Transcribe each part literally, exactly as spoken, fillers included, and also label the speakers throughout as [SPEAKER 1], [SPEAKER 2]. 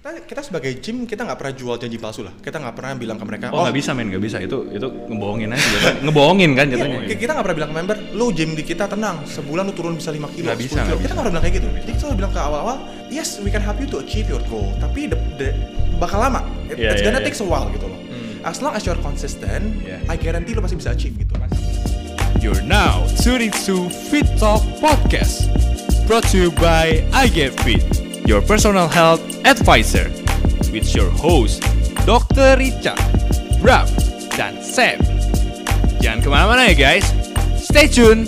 [SPEAKER 1] Kita, kita sebagai gym kita nggak pernah jual janji palsu lah. Kita nggak pernah bilang ke mereka.
[SPEAKER 2] Oh nggak oh, bisa men, nggak bisa. Itu itu ngebohongin aja. Ngebohongin kan jatuhnya.
[SPEAKER 1] Iya, kita nggak pernah bilang ke member, lu gym di kita tenang, sebulan lu turun bisa lima kilo,
[SPEAKER 2] nggak bisa,
[SPEAKER 1] kilo.
[SPEAKER 2] Nggak
[SPEAKER 1] kita nggak pernah bilang kayak gitu. Jadi kita selalu bilang ke awal-awal, yes we can help you to achieve your goal, tapi the, the, bakal lama. It,
[SPEAKER 2] yeah,
[SPEAKER 1] it's
[SPEAKER 2] yeah,
[SPEAKER 1] gonna
[SPEAKER 2] yeah.
[SPEAKER 1] take a while gitu loh. Hmm. As long as you're consistent, yeah. I guarantee lu pasti bisa achieve gitu.
[SPEAKER 3] You're now tuning to Fit Talk Podcast, brought to you by I Get Fit, your personal health advisor. With your host, dokter Richard, Bram, dan Sam. Jangan kemana-mana ya guys, stay tune.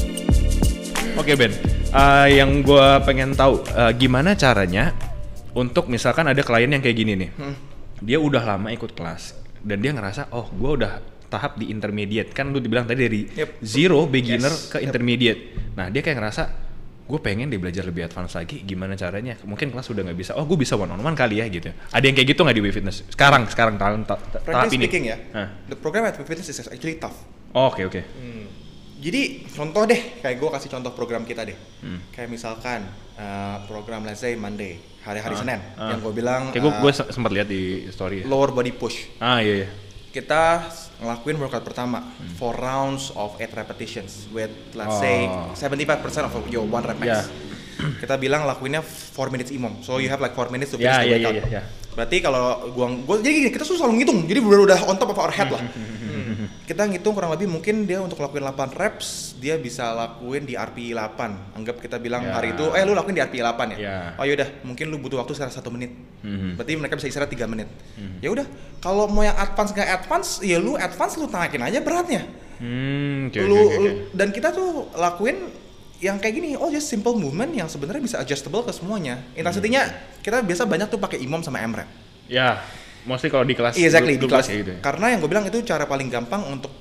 [SPEAKER 2] Oke Ben, uh, yang gue pengen tahu uh, gimana caranya untuk misalkan ada klien yang kayak gini nih, hmm. dia udah lama ikut kelas dan dia ngerasa, oh gue udah tahap di intermediate, kan lu dibilang tadi dari yep. zero beginner yes. ke intermediate. Yep. Nah dia kayak ngerasa, gue pengen dia belajar lebih advance lagi, gimana caranya? Mungkin kelas udah nggak bisa, oh gue bisa one on one kali ya gitu. Ada yang kayak gitu nggak di WeFitness? Sekarang, sekarang tahun ta- ta- tahap ini.
[SPEAKER 1] Speaking ya, huh? The program at WeFitness is actually tough.
[SPEAKER 2] Oke oh, oke. Okay, okay.
[SPEAKER 1] Hmm. Jadi contoh deh, kayak gue kasih contoh program kita deh. Hmm. Kayak misalkan uh, program let's say Monday, hari-hari uh, Senin, uh. yang gue bilang.
[SPEAKER 2] Kayak gue uh, gue sempat lihat di story.
[SPEAKER 1] Lower body push.
[SPEAKER 2] Ah iya iya.
[SPEAKER 1] Kita ngelakuin workout pertama hmm. four rounds of eight repetitions with let's oh. say seventy-five percent of your one rep max. Yeah. Kita bilang lakuinnya four minutes imom. So you have like four minutes to finish yeah, the workout. Yeah, yeah, yeah. Berarti kalau gua gua jadi gini, kita tuh selalu ngitung. Jadi udah udah on top of our head lah. hmm. Kita ngitung kurang lebih mungkin dia untuk lakuin delapan reps, dia bisa lakuin di R P E delapan. Anggap kita bilang yeah. hari itu eh lu lakuin di R P E delapan ya. Yeah. Oh yaudah, mungkin lu butuh waktu sekitar satu menit. Hmm. Berarti mereka bisa istirahat tiga menit. Hmm. Ya udah, kalau mau yang advance enggak advance, ya lu advance lu naikin aja beratnya.
[SPEAKER 2] Hmm, okay,
[SPEAKER 1] lu,
[SPEAKER 2] okay, okay.
[SPEAKER 1] Dan kita tuh lakuin yang kayak gini, oh just simple movement yang sebenarnya bisa adjustable ke semuanya. Intensity-nya kita biasa banyak tuh pakai imom sama M rep.
[SPEAKER 2] Ya, mostly kalau di kelas.
[SPEAKER 1] Exactly, di kelas.
[SPEAKER 2] Gitu ya.
[SPEAKER 1] Karena yang gue bilang itu cara paling gampang untuk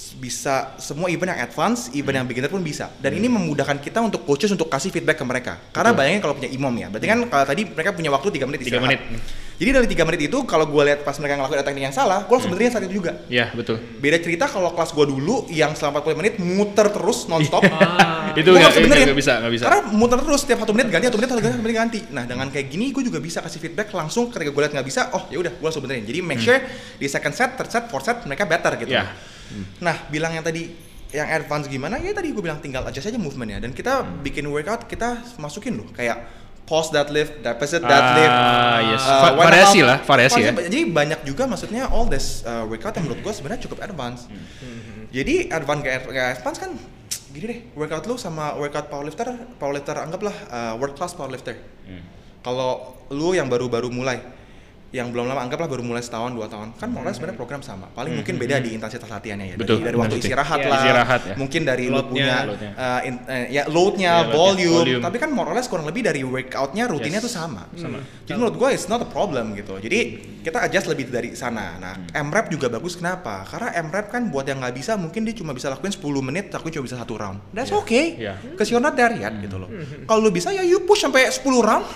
[SPEAKER 1] bisa semua event yang advance, event hmm. yang beginner pun bisa. Dan hmm. ini memudahkan kita untuk coaches untuk kasih feedback ke mereka. Karena Betul. bayangin kalau punya imom ya, berarti kan kalau tadi mereka punya waktu tiga menit istirahat. tiga menit. Jadi dari tiga menit itu kalau gue lihat pas mereka ngelakuin teknik yang salah, gue langsung hmm. benerin saat itu juga.
[SPEAKER 2] Iya, betul.
[SPEAKER 1] Beda cerita kalau kelas gue dulu yang selama empat puluh menit muter terus nonstop.
[SPEAKER 2] ah. Itu nggak
[SPEAKER 1] nggak
[SPEAKER 2] bisa, nggak bisa.
[SPEAKER 1] Karena muter terus setiap satu menit ganti, satu menit, satu menit ganti. Nah dengan kayak gini gue juga bisa kasih feedback langsung ketika gue lihat nggak bisa, oh ya udah gue langsung benerin. Jadi make sure hmm. di second set, third set, fourth set mereka better gitu. Yeah. Hmm. Nah bilang yang tadi yang advance gimana? Ya tadi gue bilang tinggal adjust aja movementnya dan kita hmm. bikin workout kita masukin loh kayak pause deadlift, deficit deadlift,
[SPEAKER 2] ah, yes. uh, variasi lah, variasi ya.
[SPEAKER 1] Jadi banyak juga maksudnya all this uh, workout yang menurut gue sebenarnya cukup advance. Hmm. Jadi advance kayak advance kan gini deh, workout lu sama workout powerlifter, powerlifter anggaplah uh, world class powerlifter. Hmm. Kalau lu yang baru-baru mulai, yang belum lama anggaplah baru mulai setahun dua tahun kan hmm. moralnya sebenarnya program sama paling hmm. mungkin beda di intensitas latihannya ya.
[SPEAKER 2] Betul,
[SPEAKER 1] dari, dari waktu istirahat
[SPEAKER 2] ya,
[SPEAKER 1] lah
[SPEAKER 2] istirahat, ya.
[SPEAKER 1] Mungkin dari
[SPEAKER 2] loadnya,
[SPEAKER 1] lu punya
[SPEAKER 2] loadnya.
[SPEAKER 1] Uh, in, uh, ya loadnya, ya, volume. volume tapi kan moralnya kurang lebih dari workoutnya rutinnya yes. tuh sama, sama. Hmm. Jadi menurut gue it's not a problem gitu. Jadi kita adjust lebih dari sana. Nah hmm. M rep juga bagus kenapa? Karena M rep kan buat yang nggak bisa mungkin dia cuma bisa lakuin sepuluh menit tapi cuma bisa satu round. That's yeah. okay yeah. Cause you're not there yet hmm. gitu loh. Hmm. Kalau lu bisa ya you push sampai sepuluh round.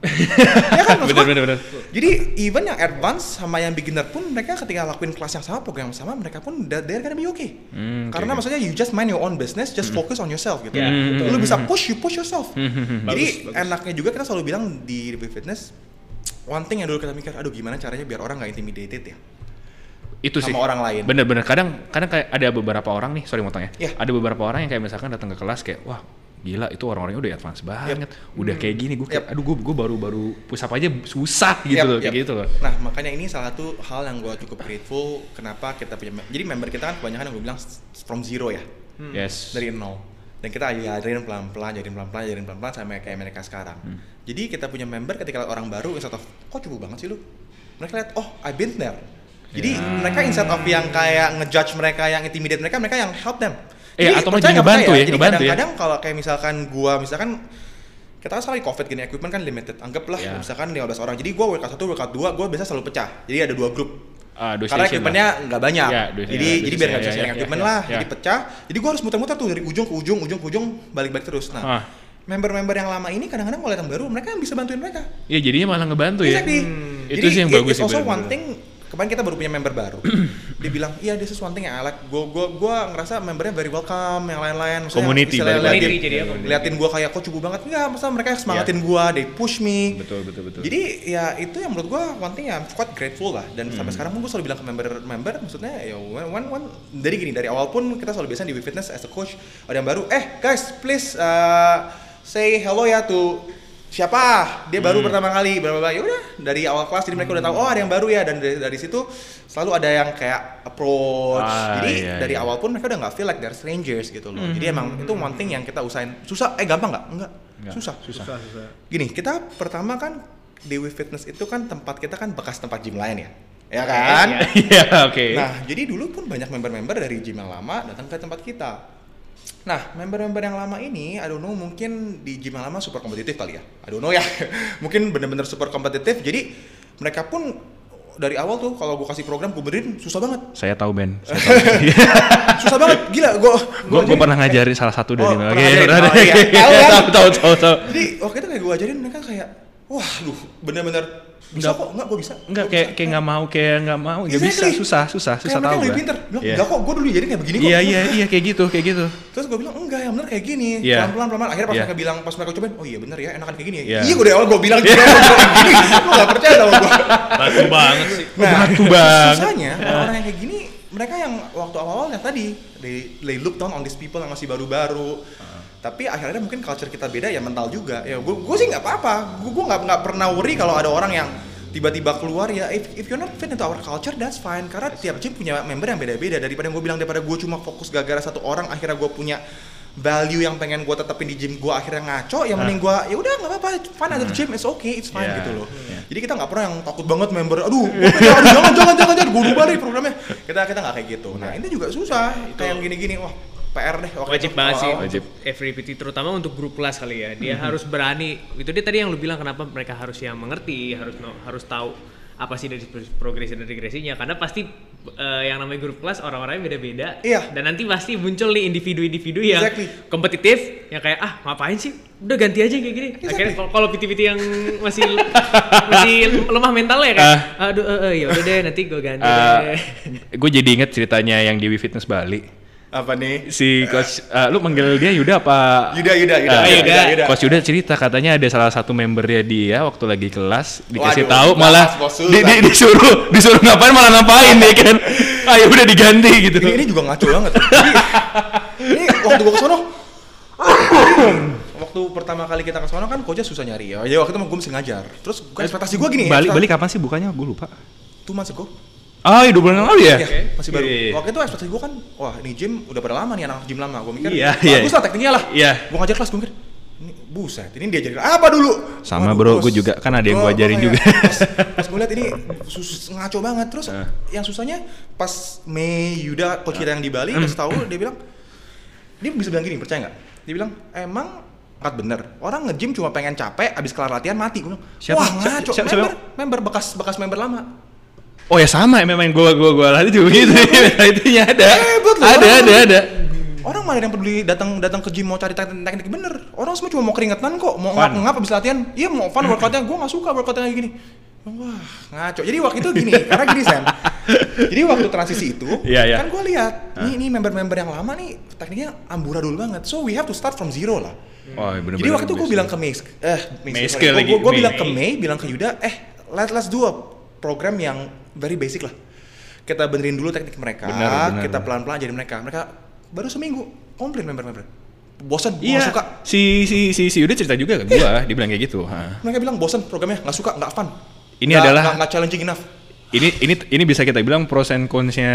[SPEAKER 1] Ya kan, bener, bener, bener. Jadi even yang advance sama yang beginner pun mereka ketika lakuin kelas yang sama, program yang sama, mereka pun they're gonna be okay. Hmm,
[SPEAKER 3] okay.
[SPEAKER 1] Karena maksudnya you just mind your own business, just hmm. focus on yourself gitu.
[SPEAKER 3] Yeah,
[SPEAKER 1] hmm. Lu bisa push, you push yourself.
[SPEAKER 3] Hmm.
[SPEAKER 1] Jadi
[SPEAKER 3] bagus,
[SPEAKER 1] enaknya bagus. juga kita selalu bilang di WeFitness, one thing yang dulu kita mikir, aduh gimana caranya biar orang nggak intimidated ya.
[SPEAKER 2] Itu
[SPEAKER 1] sama
[SPEAKER 2] sih
[SPEAKER 1] orang lain.
[SPEAKER 2] Bener-bener kadang kadang kayak ada beberapa orang nih, sorry motong ya.
[SPEAKER 1] Yeah.
[SPEAKER 2] Ada beberapa orang yang kayak misalkan datang ke kelas kayak wah gila itu orang-orangnya udah advance banget, yep. udah kayak gini gue kayak, yep. aduh gue gue baru-baru push up aja susah gitu yep, loh, yep. kayak gitu loh.
[SPEAKER 1] Nah makanya ini salah satu hal yang gue cukup grateful kenapa kita punya, jadi member kita kan kebanyakan yang gue bilang from zero ya,
[SPEAKER 2] hmm. yes.
[SPEAKER 1] dari nol, dan kita ajarin pelan-pelan, ajarin pelan-pelan, ajarin pelan-pelan sampai kayak mereka sekarang. Hmm. Jadi kita punya member ketika orang baru instead of kok cukup banget sih lu, mereka lihat oh I've been there. Jadi yeah. mereka instead of yang kayak ngejudge mereka, yang intimidate mereka, mereka yang help them.
[SPEAKER 2] Jadi, eh, atau malah jadi ngebantu ya,
[SPEAKER 1] jadi
[SPEAKER 2] ngebantu
[SPEAKER 1] kadang-kadang
[SPEAKER 2] ya.
[SPEAKER 1] kalau kayak misalkan gua, misalkan kita kan sekali covid gini, equipment kan limited, anggaplah yeah. misalkan lima belas orang, jadi gua workout satu, workout dua, gua biasa selalu pecah, jadi ada dua grup. Uh, karena equipmentnya nggak banyak, yeah, dua, jadi yeah, jadi biar nggak bisa sharing yeah, equipment yeah, lah, yeah. jadi pecah, jadi gua harus muter-muter tuh dari ujung ke ujung, ujung ke ujung, balik-balik terus. Nah, uh. member-member yang lama ini kadang-kadang kalau yang baru, mereka yang bisa bantuin mereka.
[SPEAKER 2] Iya, jadinya malah ngebantu ya.
[SPEAKER 1] Exactly.
[SPEAKER 2] Hmm. Itu sih yang bagus
[SPEAKER 1] sih. It's also one thing. Kemarin kita baru punya member baru. dia bilang, iya this is one thing yang I like. Gue gue gue ngerasa membernya very welcome, yang lain-lain.
[SPEAKER 2] Community,
[SPEAKER 1] liatin,
[SPEAKER 4] jadi apa?
[SPEAKER 1] liatin gue kayak kok cukup banget. Enggak, maksudnya mereka semangatin yeah. gue, they push me.
[SPEAKER 2] Betul betul betul.
[SPEAKER 1] Jadi ya itu yang menurut gue one thing yang quite grateful lah. Dan hmm. sampai sekarang pun gue selalu bilang ke member-member, maksudnya ya one one dari gini, dari awal pun kita selalu biasa di WeFitness as a coach ada yang baru, eh guys please uh, say hello ya to siapa dia baru hmm. pertama kali berapa ya udah dari awal kelas jadi mereka udah tahu oh ada yang baru ya, dan dari, dari situ selalu ada yang kayak approach ah, jadi iya, dari iya. awal pun mereka udah nggak feel like they're strangers gitu loh. hmm. Jadi emang itu one thing yang kita usahain. Susah eh gampang nggak? Enggak, Enggak. Susah.
[SPEAKER 4] susah susah
[SPEAKER 1] gini, kita pertama kan di WeFitness itu kan tempat kita kan bekas tempat gym lain ya ya kan
[SPEAKER 2] iya oke.
[SPEAKER 1] Nah jadi dulu pun banyak member-member dari gym yang lama datang ke tempat kita. Nah, member-member yang lama ini, I don't know, mungkin di gym yang lama super kompetitif kali ya. I don't know ya. Mungkin bener-bener super kompetitif. Jadi mereka pun dari awal tuh kalau gue kasih program gue benerin susah banget.
[SPEAKER 2] Saya tahu Ben. Saya tahu.
[SPEAKER 1] Susah banget, gila. Gue
[SPEAKER 2] gue pernah ngajarin salah satu dari
[SPEAKER 1] oh,
[SPEAKER 2] mereka.
[SPEAKER 1] Oh, iya.
[SPEAKER 2] Tahu tahu tahu tahu.
[SPEAKER 1] Jadi waktu itu kayak gue ajarin mereka kayak, wah, duh, bener-bener bisa
[SPEAKER 2] enggak,
[SPEAKER 1] kok, enggak gue bisa.
[SPEAKER 2] Enggak kayak kayak enggak mau, kayak enggak mau, enggak exactly. bisa, susah, susah, susah tahu.
[SPEAKER 1] Kayak mereka lebih pinter. Bilang, yeah. enggak kok, gue dulu jadi kayak begini kok.
[SPEAKER 2] Iya, iya, iya, kayak gitu, kayak gitu.
[SPEAKER 1] Terus gue bilang, enggak, yang bener kayak gini.
[SPEAKER 2] Yeah.
[SPEAKER 1] Pelan-pelan, pelan-pelan. Akhirnya pas
[SPEAKER 2] yeah.
[SPEAKER 1] mereka bilang, pas mereka cobain, oh iya bener ya, enakan kayak gini ya.
[SPEAKER 2] Yeah.
[SPEAKER 1] Iya, gue dari awal gue bilang gini, gue gini. Gue gak percaya sama gue.
[SPEAKER 3] Batu banget sih.
[SPEAKER 1] Nah,
[SPEAKER 2] batu banget.
[SPEAKER 1] susahnya, orang yang kayak gini, mereka yang waktu awal-awal yang tadi, they, they look down on these people yang masih baru-baru. Tapi akhirnya mungkin culture kita beda ya, mental juga. Ya gue gue sih nggak apa-apa. Gue gue nggak nggak pernah worry kalau ada orang yang tiba-tiba keluar ya. If, if you're not fit into our culture, that's fine. Karena tiap gym punya member yang beda-beda. Daripada gue bilang daripada gue cuma fokus gara-gara satu orang, akhirnya gue punya value yang pengen gue tetepin di gym gue akhirnya ngaco. Yang mending gue ya udah nggak apa-apa. Fine at the gym, it's okay, it's fine yeah. gitu loh. Yeah. Jadi kita nggak pernah yang takut banget member. Aduh, gue aduh jangan jangan jangan jangan gue rubah deh programnya. Kita kita nggak kayak gitu. Nah ini juga susah. Kayak yang gini-gini. Wah. P R deh.
[SPEAKER 4] Wajib banget sih wajib. Every P T terutama untuk grup kelas kali ya. Dia mm-hmm. harus berani. Itu dia tadi yang lu bilang kenapa mereka harus yang mengerti, harus no, harus tahu apa sih dari progresi dan regresinya. Karena pasti uh, yang namanya grup kelas orang-orangnya beda-beda.
[SPEAKER 1] Iya.
[SPEAKER 4] Dan nanti pasti muncul nih individu-individu yang
[SPEAKER 1] exactly.
[SPEAKER 4] kompetitif, yang kayak ah ngapain sih? Udah ganti aja kayak gini. Exactly. Akhirnya kalau P T-P T yang masih masih lemah mentalnya kan. Uh, Aduh, uh, uh, ya udah deh nanti gue ganti uh, deh.
[SPEAKER 2] Gue jadi inget ceritanya yang di WeFitness Bali.
[SPEAKER 1] Apa nih?
[SPEAKER 2] Si coach, uh, lu manggil dia Yuda apa?
[SPEAKER 1] Yuda, Yuda, Yuda.
[SPEAKER 2] Uh,
[SPEAKER 1] Yuda, Yuda, Yuda.
[SPEAKER 2] Coach Yuda cerita katanya ada salah satu membernya dia waktu lagi kelas dikasih
[SPEAKER 1] Waduh,
[SPEAKER 2] tahu malah di, di, disuruh disuruh ngapain malah ngapain ya kan? Ah ya udah diganti gitu.
[SPEAKER 1] Ini, ini juga ngaco banget. Jadi, ini waktu gua kesono, waktu pertama kali kita kesono kan coachnya susah nyari ya. Jadi waktu itu gue mesti ngajar. Terus gua ekspektasi gua gini.
[SPEAKER 2] Balik balik kapan sih bukannya? Gue lupa.
[SPEAKER 1] Two months ago.
[SPEAKER 2] Ah, iya, dua bulan yang lalu ya?
[SPEAKER 1] Iya, okay. masih baru.
[SPEAKER 2] Yeah, yeah.
[SPEAKER 1] Waktu itu ekspektasi gue kan, wah ini gym udah pada lama nih anak gym lama. Gue mikir,
[SPEAKER 2] yeah,
[SPEAKER 1] bagus
[SPEAKER 2] yeah.
[SPEAKER 1] lah tekniknya lah.
[SPEAKER 2] Yeah.
[SPEAKER 1] Gue ngajar kelas, gue mikir, ini buset, ini dia ajarin apa dulu?
[SPEAKER 2] Sama Waduh, bro, gue juga, kan ada yang gue ajarin juga.
[SPEAKER 1] Pas, pas gue liat ini sus, ngaco banget. Terus uh. yang susahnya pas Mei Yuda, coach kita yang di Bali, kasih tahu dia bilang, dia bisa bilang gini, percaya nggak? Dia bilang, emang angkat bener, orang nge-gym cuma pengen capek, abis kelar latihan mati. Gue bilang,
[SPEAKER 2] siapa?
[SPEAKER 1] Wah ngaco,
[SPEAKER 2] siapa,
[SPEAKER 1] member,
[SPEAKER 2] siapa?
[SPEAKER 1] member bekas bekas member lama.
[SPEAKER 2] Oh ya sama, memang gua gua gua latih juga gitu. Itunya ada.
[SPEAKER 1] Hebat loh.
[SPEAKER 2] Ada, ada, ada.
[SPEAKER 1] Orang mana yang peduli datang datang ke gym mau cari teknik bener. Orang semua cuma mau keringetan kok, mau ngap-ngap abis latihan. Iya mau fun workoutnya, gua nggak suka workoutnya kayak gini. Wah ngaco. Jadi waktu itu gini, karena gini Sam. Jadi waktu transisi itu, yeah, yeah. kan gua lihat, nih nih member-member yang lama nih tekniknya amburadul banget. So we have to start from zero lah.
[SPEAKER 2] Oh, bener-bener.
[SPEAKER 1] Jadi waktu itu gua bilang ke Mei, eh
[SPEAKER 2] Mei,
[SPEAKER 1] gua, gua bilang ke Mei, bilang ke Yuda, eh let let's do a program yang very basic lah. Kita benerin dulu teknik mereka, bener, bener, kita pelan-pelan ajarin mereka. Mereka baru seminggu komplain member-member. Bosan,
[SPEAKER 2] iya,
[SPEAKER 1] gak suka.
[SPEAKER 2] Si si si si udah cerita juga ke gua, iya. Dia bilang kayak gitu. Ha.
[SPEAKER 1] Mereka bilang bosan programnya, nggak suka, nggak fun.
[SPEAKER 2] Ini
[SPEAKER 1] gak,
[SPEAKER 2] adalah
[SPEAKER 1] nggak challenging enough.
[SPEAKER 2] Ini ini ini bisa kita bilang pros and cons-nya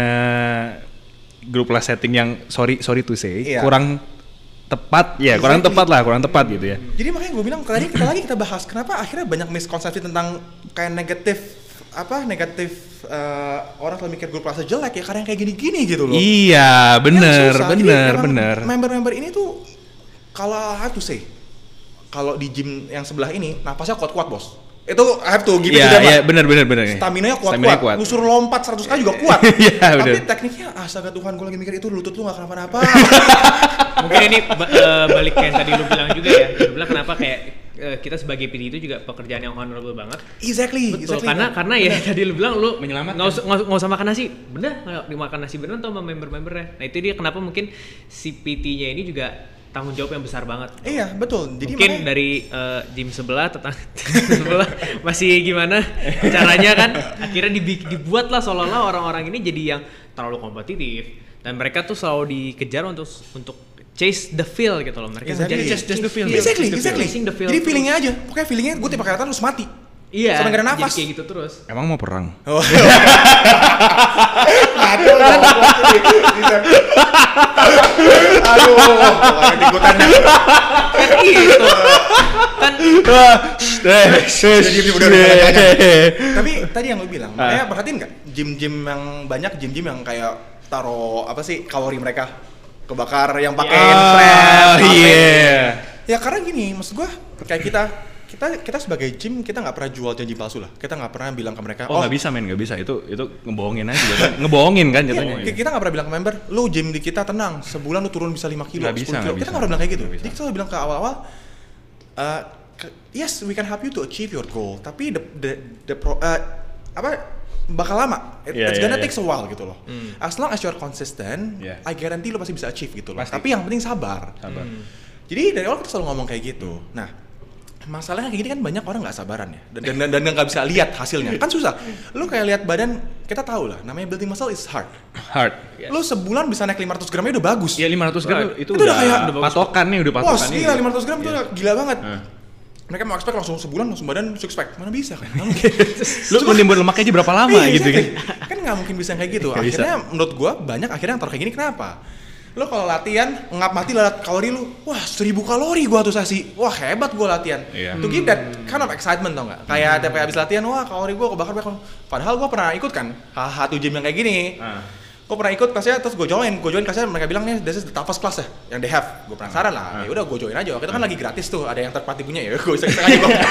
[SPEAKER 2] grup class setting yang sorry sorry to say iya. kurang tepat ya, exactly. kurang tepat lah, kurang tepat gitu ya.
[SPEAKER 1] Jadi makanya gue bilang tadi kita lagi kita bahas kenapa akhirnya banyak miskonsepsi tentang kayak negatif apa negatif uh, orang selalu mikir grup kelasnya jelek ya karena yang kayak gini-gini gitu loh.
[SPEAKER 2] Iya, bener, bener, bener.
[SPEAKER 1] Member-member ini tuh kalau I have to say kalau di gym yang sebelah ini napasnya kuat-kuat bos. Itu I have to give it to them. Iya,
[SPEAKER 2] bener, bener, bener.
[SPEAKER 1] Stamina-nya kuat-kuat. Lu suruh lompat seratus kali juga kuat.
[SPEAKER 2] Iya,
[SPEAKER 1] tapi
[SPEAKER 2] bener.
[SPEAKER 1] tekniknya astaga Tuhan gue lagi mikir itu lutut lu gak kenapa-napa.
[SPEAKER 4] Mungkin ini uh, balik ke yang tadi lu bilang juga ya. Lu bilang kenapa kayak uh, kita sebagai P T itu juga pekerjaan yang honorable banget.
[SPEAKER 1] Exactly.
[SPEAKER 4] Betul,
[SPEAKER 1] exactly,
[SPEAKER 4] karena
[SPEAKER 1] kan?
[SPEAKER 4] karena ya tadi lu bilang lu
[SPEAKER 2] Menyelamatkan.
[SPEAKER 4] nggak usah nggak usah makan nasi, bener nggak dimakan nasi bener atau sama member-membernya. Nah itu dia kenapa mungkin si P T-nya ini juga tanggung jawab yang besar banget.
[SPEAKER 1] Iya betul. Jadi
[SPEAKER 4] mungkin
[SPEAKER 1] makanya,
[SPEAKER 4] dari uh, gym sebelah tetangga sebelah masih gimana caranya kan akhirnya dibi- dibuat lah seolah-olah orang-orang ini jadi yang terlalu kompetitif dan mereka tuh selalu dikejar untuk untuk chase the feel gitu loh, mereka
[SPEAKER 1] Exactly.
[SPEAKER 4] ngejar
[SPEAKER 2] Chase- chase the feel.
[SPEAKER 1] exactly,
[SPEAKER 4] Chase the
[SPEAKER 1] exactly.
[SPEAKER 4] chasing the feel.
[SPEAKER 1] Jadi feelingnya aja. Pokoknya feelingnya gue tiap kali harus mati.
[SPEAKER 4] Iya,
[SPEAKER 1] sampai nggak ada
[SPEAKER 4] jadi
[SPEAKER 1] nafas.
[SPEAKER 4] kayak gitu terus.
[SPEAKER 2] Emang mau perang?
[SPEAKER 1] Oh. Aduh, aduh, pokoknya ikutannya.
[SPEAKER 4] Gitu kan.
[SPEAKER 1] Tapi tadi yang lu bilang, makanya perhatiin nggak gym-gym yang banyak gym-gym yang kayak taruh apa sih kalori mereka kebakar yang pakai
[SPEAKER 2] Ah,
[SPEAKER 1] infrared.
[SPEAKER 2] iya.
[SPEAKER 1] Ya karena gini, maksud gua kayak kita kita kita sebagai gym kita nggak pernah jual janji palsu lah. Kita nggak pernah bilang ke mereka,
[SPEAKER 2] Oh nggak bisa men, nggak bisa. Itu itu ngebohongin aja jatuhnya. Ngebohongin kan jatuhnya.
[SPEAKER 1] Iya, kita nggak pernah bilang ke member, lu gym di kita tenang, sebulan lu turun bisa lima kilo,
[SPEAKER 2] Nggak bisa,
[SPEAKER 1] sepuluh kilo.
[SPEAKER 2] nggak
[SPEAKER 1] Kita
[SPEAKER 2] bisa.
[SPEAKER 1] nggak pernah bilang kayak gitu.
[SPEAKER 2] Nggak bisa.
[SPEAKER 1] Jadi kita selalu bilang ke awal-awal, uh, ke- yes we can help you to achieve your goal, tapi the the, the pro, uh, apa bakal lama. It,
[SPEAKER 2] Yeah,
[SPEAKER 1] it's
[SPEAKER 2] yeah,
[SPEAKER 1] gonna
[SPEAKER 2] yeah.
[SPEAKER 1] take a while gitu loh. As long as you're consistent,
[SPEAKER 2] Yeah.
[SPEAKER 1] I guarantee lu pasti bisa achieve gitu loh.
[SPEAKER 2] Pasti.
[SPEAKER 1] Tapi yang penting sabar.
[SPEAKER 2] Sabar.
[SPEAKER 1] Jadi dari awal kita selalu ngomong kayak gitu. Nah, masalahnya kayak gini kan banyak orang nggak sabaran ya, dan dan dan nggak bisa lihat hasilnya. Kan susah. Lu kayak lihat badan, kita tahu lah. Namanya building muscle is hard.
[SPEAKER 2] Hard.
[SPEAKER 1] Lu sebulan bisa naik lima ratus gramnya udah bagus.
[SPEAKER 2] Ya lima ratus gram
[SPEAKER 4] Right.
[SPEAKER 2] itu,
[SPEAKER 1] Itu udah
[SPEAKER 2] udah,
[SPEAKER 1] kayak-
[SPEAKER 2] udah patokan nih, udah
[SPEAKER 1] Wah,
[SPEAKER 2] patokan nih.
[SPEAKER 1] gila lima ratus gram itu udah gila banget.
[SPEAKER 2] Nah.
[SPEAKER 1] Mereka mau expect langsung sebulan langsung badan six pack. Mana bisa kan? Nggak mungkin.
[SPEAKER 2] Lu menimbun lemaknya aja berapa lama
[SPEAKER 1] Iya,
[SPEAKER 2] gitu kan?
[SPEAKER 1] exactly. Kan nggak mungkin bisa kayak gitu.
[SPEAKER 2] Nggak bisa.
[SPEAKER 1] Akhirnya menurut gua banyak akhirnya yang taruh kayak gini kenapa? Lo kalau latihan ngap mati lihat kalori lu, wah seribu kalori gua tuh sesi, wah hebat gua latihan.
[SPEAKER 2] Iya.
[SPEAKER 1] To give that kind of excitement tau nggak? Kayak tiap kali habis latihan, wah kalori gua kebakar bakar. Padahal gua pernah ikut kan, satu gym yang kayak gini.
[SPEAKER 2] Ah.
[SPEAKER 1] Gue pernah ikut kelasnya, terus gue join, gue join kelasnya mereka bilang nih this is the toughest class ya, yang they have. Gue penasaran lah, ya udah gue join aja. Waktu itu kan lagi gratis tuh, ada yang third party punya ya, gue iseng-iseng aja gue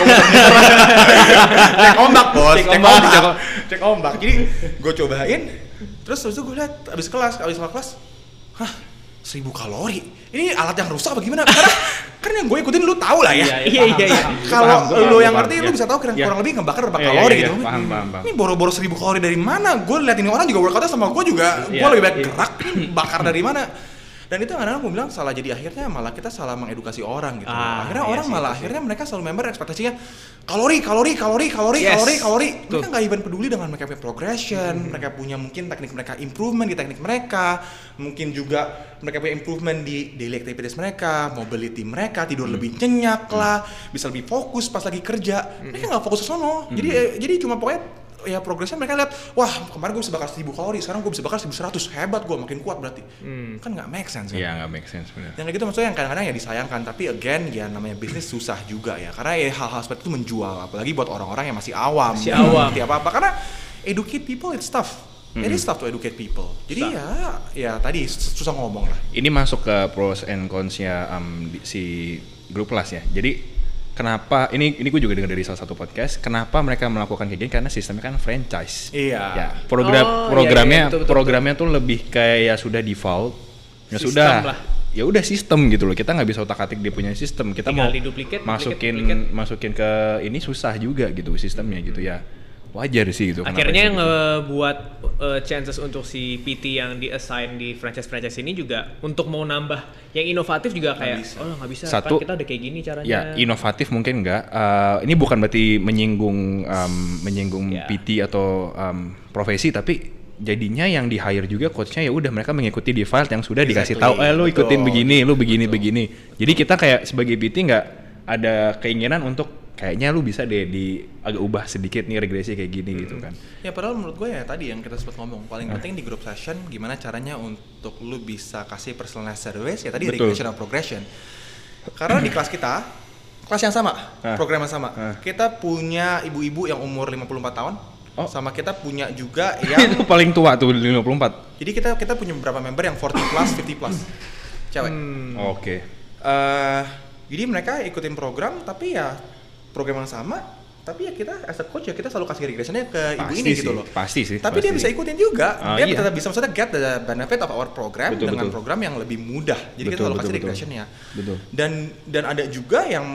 [SPEAKER 1] cek ombak bos,
[SPEAKER 2] Cek
[SPEAKER 1] cek
[SPEAKER 2] ombak,
[SPEAKER 1] ombak,
[SPEAKER 2] cek om-
[SPEAKER 1] cek ombak. Jadi gue cobain, terus habis itu gue lihat abis kelas, abis kelas, hah seribu kalori, ini alat yang rusak apa gimana? Karena kan yang gue ikutin lu tahu lah ya.
[SPEAKER 4] Iya iya iya.
[SPEAKER 1] Kalau
[SPEAKER 2] Paham,
[SPEAKER 1] lu
[SPEAKER 2] paham,
[SPEAKER 1] yang
[SPEAKER 2] paham,
[SPEAKER 1] ngerti,
[SPEAKER 2] iya.
[SPEAKER 1] lu bisa tahu kira
[SPEAKER 2] Iya.
[SPEAKER 1] kurang lebih ngebakar berapa
[SPEAKER 2] Iya, iya,
[SPEAKER 1] kalori
[SPEAKER 2] iya,
[SPEAKER 1] gitu.
[SPEAKER 2] paham, paham, paham.
[SPEAKER 1] Ini boro-boro seribu kalori dari mana? Gue liat ini orang juga workoutnya sama gue juga, gue
[SPEAKER 2] Iya,
[SPEAKER 1] lebih banyak
[SPEAKER 2] iya.
[SPEAKER 1] gerak, ini bakar dari mana? Dan itu kadang-kadang gue bilang salah, jadi akhirnya malah kita salah mengedukasi orang gitu.
[SPEAKER 4] Ah,
[SPEAKER 1] akhirnya
[SPEAKER 4] iya
[SPEAKER 1] orang
[SPEAKER 4] sih,
[SPEAKER 1] malah
[SPEAKER 4] itu sih.
[SPEAKER 1] akhirnya mereka selalu member ekspektasinya kalori, kalori, kalori, kalori,
[SPEAKER 4] Yes.
[SPEAKER 1] kalori, kalori.
[SPEAKER 4] Tuh.
[SPEAKER 1] Mereka nggak even peduli dengan mereka punya progression,
[SPEAKER 4] Hmm.
[SPEAKER 1] mereka punya mungkin teknik mereka improvement di teknik mereka, mungkin juga mereka punya improvement di daily activities mereka, mobility mereka, tidur
[SPEAKER 4] Hmm.
[SPEAKER 1] lebih nyenyak lah, bisa lebih fokus pas lagi kerja.
[SPEAKER 4] Hmm.
[SPEAKER 1] Mereka nggak fokus ke sono. Jadi eh, jadi cuma pokoknya ya progresnya mereka lihat, wah kemarin gue bisa bakar seribu kalori, sekarang gue bisa bakar seribu seratus, hebat gue, makin kuat berarti. Kan nggak make sense kan?
[SPEAKER 2] Iya nggak make sense benar.
[SPEAKER 1] Yang kayak gitu maksudnya yang kadang-kadang ya disayangkan, tapi again ya namanya bisnis susah juga ya, karena ya hal-hal seperti itu menjual, apalagi buat orang-orang yang masih awam,
[SPEAKER 4] Masih
[SPEAKER 1] nggak
[SPEAKER 4] awam.
[SPEAKER 1] ngerti apa-apa, karena educate people it's tough. It is tough to educate people. Jadi ya, ya tadi sus- susah ngomong lah.
[SPEAKER 2] Ini masuk ke pros and cons-nya um, di- si Group Plus ya. Jadi kenapa ini ini gue juga dengar dari salah satu podcast, kenapa mereka melakukan kayak gini, karena sistemnya kan franchise.
[SPEAKER 1] Iya.
[SPEAKER 2] Ya, program
[SPEAKER 4] Oh, iya,
[SPEAKER 2] programnya
[SPEAKER 4] iya, betul, betul,
[SPEAKER 2] programnya tuh lebih kayak sudah default. Ya
[SPEAKER 4] Sistem
[SPEAKER 2] sudah.
[SPEAKER 4] lah.
[SPEAKER 2] Ya udah sistem gitu loh. Kita nggak bisa otak-atik dia punya sistem. Kita
[SPEAKER 4] Tinggal
[SPEAKER 2] mau
[SPEAKER 4] di-duplicate,
[SPEAKER 2] masukin
[SPEAKER 4] duplicate,
[SPEAKER 2] masukin ke ini susah juga gitu sistemnya gitu ya. Wajar sih gitu. kenapa
[SPEAKER 4] Akhirnya
[SPEAKER 2] sih gitu.
[SPEAKER 4] ngebuat uh, chances untuk si P T yang di-assign di franchise-franchise ini juga untuk mau nambah yang inovatif juga kayak
[SPEAKER 1] bisa.
[SPEAKER 4] oh nggak bisa,
[SPEAKER 2] Satu,
[SPEAKER 4] kan kita udah kayak gini caranya.
[SPEAKER 2] Ya, inovatif mungkin enggak. Uh, ini bukan berarti menyinggung um, menyinggung
[SPEAKER 4] Ya.
[SPEAKER 2] P T atau um, profesi, tapi jadinya yang di hire juga coachnya ya udah mereka mengikuti di file yang sudah dikasih
[SPEAKER 1] Exactly,
[SPEAKER 2] tahu, eh lu ikutin
[SPEAKER 1] betul.
[SPEAKER 2] begini, lu begini begini. Jadi kita kayak sebagai P T nggak ada keinginan untuk kayaknya lu bisa deh di agak ubah sedikit nih regresi kayak gini gitu kan.
[SPEAKER 1] Ya padahal menurut gue ya tadi yang kita sempat ngomong, paling penting di group session gimana caranya untuk lu bisa kasih personalized service, ya tadi
[SPEAKER 2] Betul.
[SPEAKER 1] regression dan progression. Karena di kelas kita, kelas yang sama,
[SPEAKER 2] Ah.
[SPEAKER 1] program yang sama.
[SPEAKER 2] Ah.
[SPEAKER 1] Kita punya ibu-ibu yang umur lima puluh empat tahun,
[SPEAKER 2] Oh.
[SPEAKER 1] sama kita punya juga
[SPEAKER 2] Itu
[SPEAKER 1] yang
[SPEAKER 2] paling tua tuh lima puluh empat.
[SPEAKER 1] jadi kita kita punya beberapa member yang forty plus, fifty plus. Cewek.
[SPEAKER 4] Hmm.
[SPEAKER 2] Oke.
[SPEAKER 1] Eh, jadi mereka ikutin program tapi ya program yang sama, tapi ya kita as a coach ya kita selalu kasih regressionnya ke ibu
[SPEAKER 2] Pasti
[SPEAKER 1] ini
[SPEAKER 2] sih,
[SPEAKER 1] gitu loh.
[SPEAKER 2] pasti sih,
[SPEAKER 1] Tapi dia
[SPEAKER 2] pasti.
[SPEAKER 1] bisa ikutin juga.
[SPEAKER 2] Ah,
[SPEAKER 1] dia
[SPEAKER 2] iya.
[SPEAKER 1] tetap bisa maksudnya get the benefit of our program
[SPEAKER 2] Betul,
[SPEAKER 1] dengan
[SPEAKER 2] betul.
[SPEAKER 1] program yang lebih mudah. Jadi kita
[SPEAKER 2] Betul,
[SPEAKER 1] selalu
[SPEAKER 2] betul,
[SPEAKER 1] kasih
[SPEAKER 2] betul.
[SPEAKER 1] regressionnya.
[SPEAKER 2] Betul.
[SPEAKER 1] Dan dan ada juga yang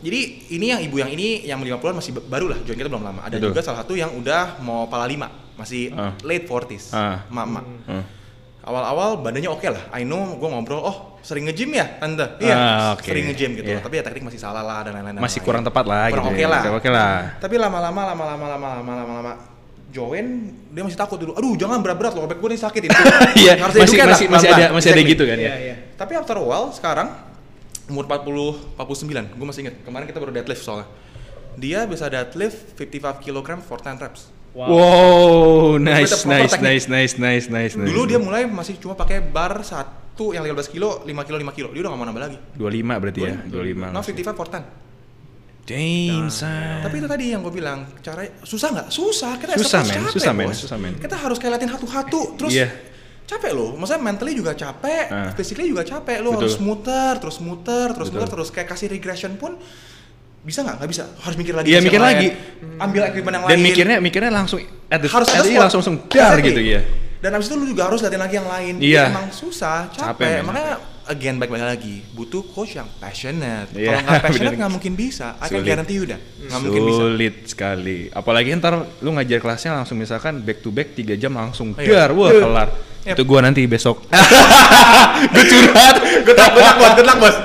[SPEAKER 1] Jadi ini yang ibu yang ini yang lima puluhan masih baru lah, join kita belum lama. Ada
[SPEAKER 2] Betul.
[SPEAKER 1] juga salah satu yang udah mau pala lima, masih
[SPEAKER 2] Uh.
[SPEAKER 1] late forties,
[SPEAKER 2] Uh.
[SPEAKER 1] mama.
[SPEAKER 2] Uh.
[SPEAKER 1] Awal-awal badannya oke lah, I know gue ngobrol, oh sering nge-gym ya tante? Iya,
[SPEAKER 2] Ah, oke.
[SPEAKER 1] sering nge-gym gitu,
[SPEAKER 2] Iya.
[SPEAKER 1] tapi ya teknik masih salah lah dan lain-lain.
[SPEAKER 2] Masih
[SPEAKER 1] dan
[SPEAKER 2] kurang
[SPEAKER 1] lain-lain.
[SPEAKER 2] tepat lah
[SPEAKER 1] Kurang
[SPEAKER 2] gitu.
[SPEAKER 1] oke
[SPEAKER 2] ya.
[SPEAKER 1] lah.
[SPEAKER 2] Oke lah.
[SPEAKER 1] Tapi lama-lama, lama-lama, lama-lama, lama-lama join, dia masih takut dulu. Aduh jangan berat-berat loh, back gue nih sakit ini.
[SPEAKER 2] Iya,
[SPEAKER 1] Harus
[SPEAKER 2] masih
[SPEAKER 1] educate lah,
[SPEAKER 2] masih masih ada
[SPEAKER 1] pelan-pelan.
[SPEAKER 2] masih ada
[SPEAKER 1] Exactly.
[SPEAKER 2] gitu kan ya.
[SPEAKER 4] Iya, iya.
[SPEAKER 1] Tapi after a while sekarang umur empat puluh, empat puluh sembilan, gue masih inget kemarin kita baru deadlift soalnya. Dia bisa deadlift lima puluh lima kilogram for ten reps.
[SPEAKER 2] Wow, wow nice,
[SPEAKER 1] Proper
[SPEAKER 2] nice,
[SPEAKER 1] teknik.
[SPEAKER 2] nice, nice, nice, nice, nice.
[SPEAKER 1] Dulu dia mulai masih cuma pakai bar satu yang lima belas kilo, lima kilo, lima kilo. Dia udah gak mau nambah lagi.
[SPEAKER 2] dua puluh lima berarti ya, dua puluh lima.
[SPEAKER 1] No, lima puluh lima for ten.
[SPEAKER 2] Damn, son.
[SPEAKER 1] Tapi itu tadi yang gue bilang, cara susah nggak? Susah. Kita
[SPEAKER 2] Susah,
[SPEAKER 1] as a coach
[SPEAKER 2] men.
[SPEAKER 1] capek,
[SPEAKER 2] Susah, men.
[SPEAKER 1] bos.
[SPEAKER 2] Susah, men.
[SPEAKER 1] Kita harus kayak latihan hatu-hatu, terus
[SPEAKER 2] Iya.
[SPEAKER 1] capek loh. Maksudnya mentally juga capek,
[SPEAKER 2] Ah.
[SPEAKER 1] physically juga capek. Lo
[SPEAKER 2] Betul.
[SPEAKER 1] harus muter, terus muter, terus
[SPEAKER 2] Betul.
[SPEAKER 1] muter, terus kayak kasih regression pun bisa nggak? Nggak bisa. Harus mikir lagi.
[SPEAKER 2] Iya,
[SPEAKER 1] kasih
[SPEAKER 2] mikir
[SPEAKER 1] yang
[SPEAKER 2] lagi.
[SPEAKER 1] lain. Ambil equipment yang
[SPEAKER 2] Dan
[SPEAKER 1] lain.
[SPEAKER 2] mikirnya mikirnya langsung at the
[SPEAKER 1] harus
[SPEAKER 2] at
[SPEAKER 1] ada
[SPEAKER 2] the-
[SPEAKER 1] spot.
[SPEAKER 2] langsung langsung dar
[SPEAKER 1] Exactly.
[SPEAKER 2] gitu ya.
[SPEAKER 1] Dan abis itu lu juga harus latihan lagi yang lain.
[SPEAKER 2] Iya.
[SPEAKER 1] Emang susah,
[SPEAKER 2] Capek,
[SPEAKER 1] capek.
[SPEAKER 2] men.
[SPEAKER 1] Makanya again baik-baik lagi, butuh coach yang passionate.
[SPEAKER 2] Iya,
[SPEAKER 1] Kalau nggak passionate
[SPEAKER 2] bener.
[SPEAKER 1] nggak mungkin bisa. I can
[SPEAKER 2] Sulit.
[SPEAKER 1] guarantee you dah. Nggak mungkin bisa.
[SPEAKER 2] Sulit sekali. Apalagi ntar lu ngajar kelasnya langsung misalkan back to back tiga jam langsung
[SPEAKER 1] Iya.
[SPEAKER 2] dar, wah
[SPEAKER 1] Iya.
[SPEAKER 2] kelar.
[SPEAKER 1] Yep.
[SPEAKER 2] Itu gua nanti besok. Gue curhat.
[SPEAKER 1] Good luck, good luck bos, good luck bos.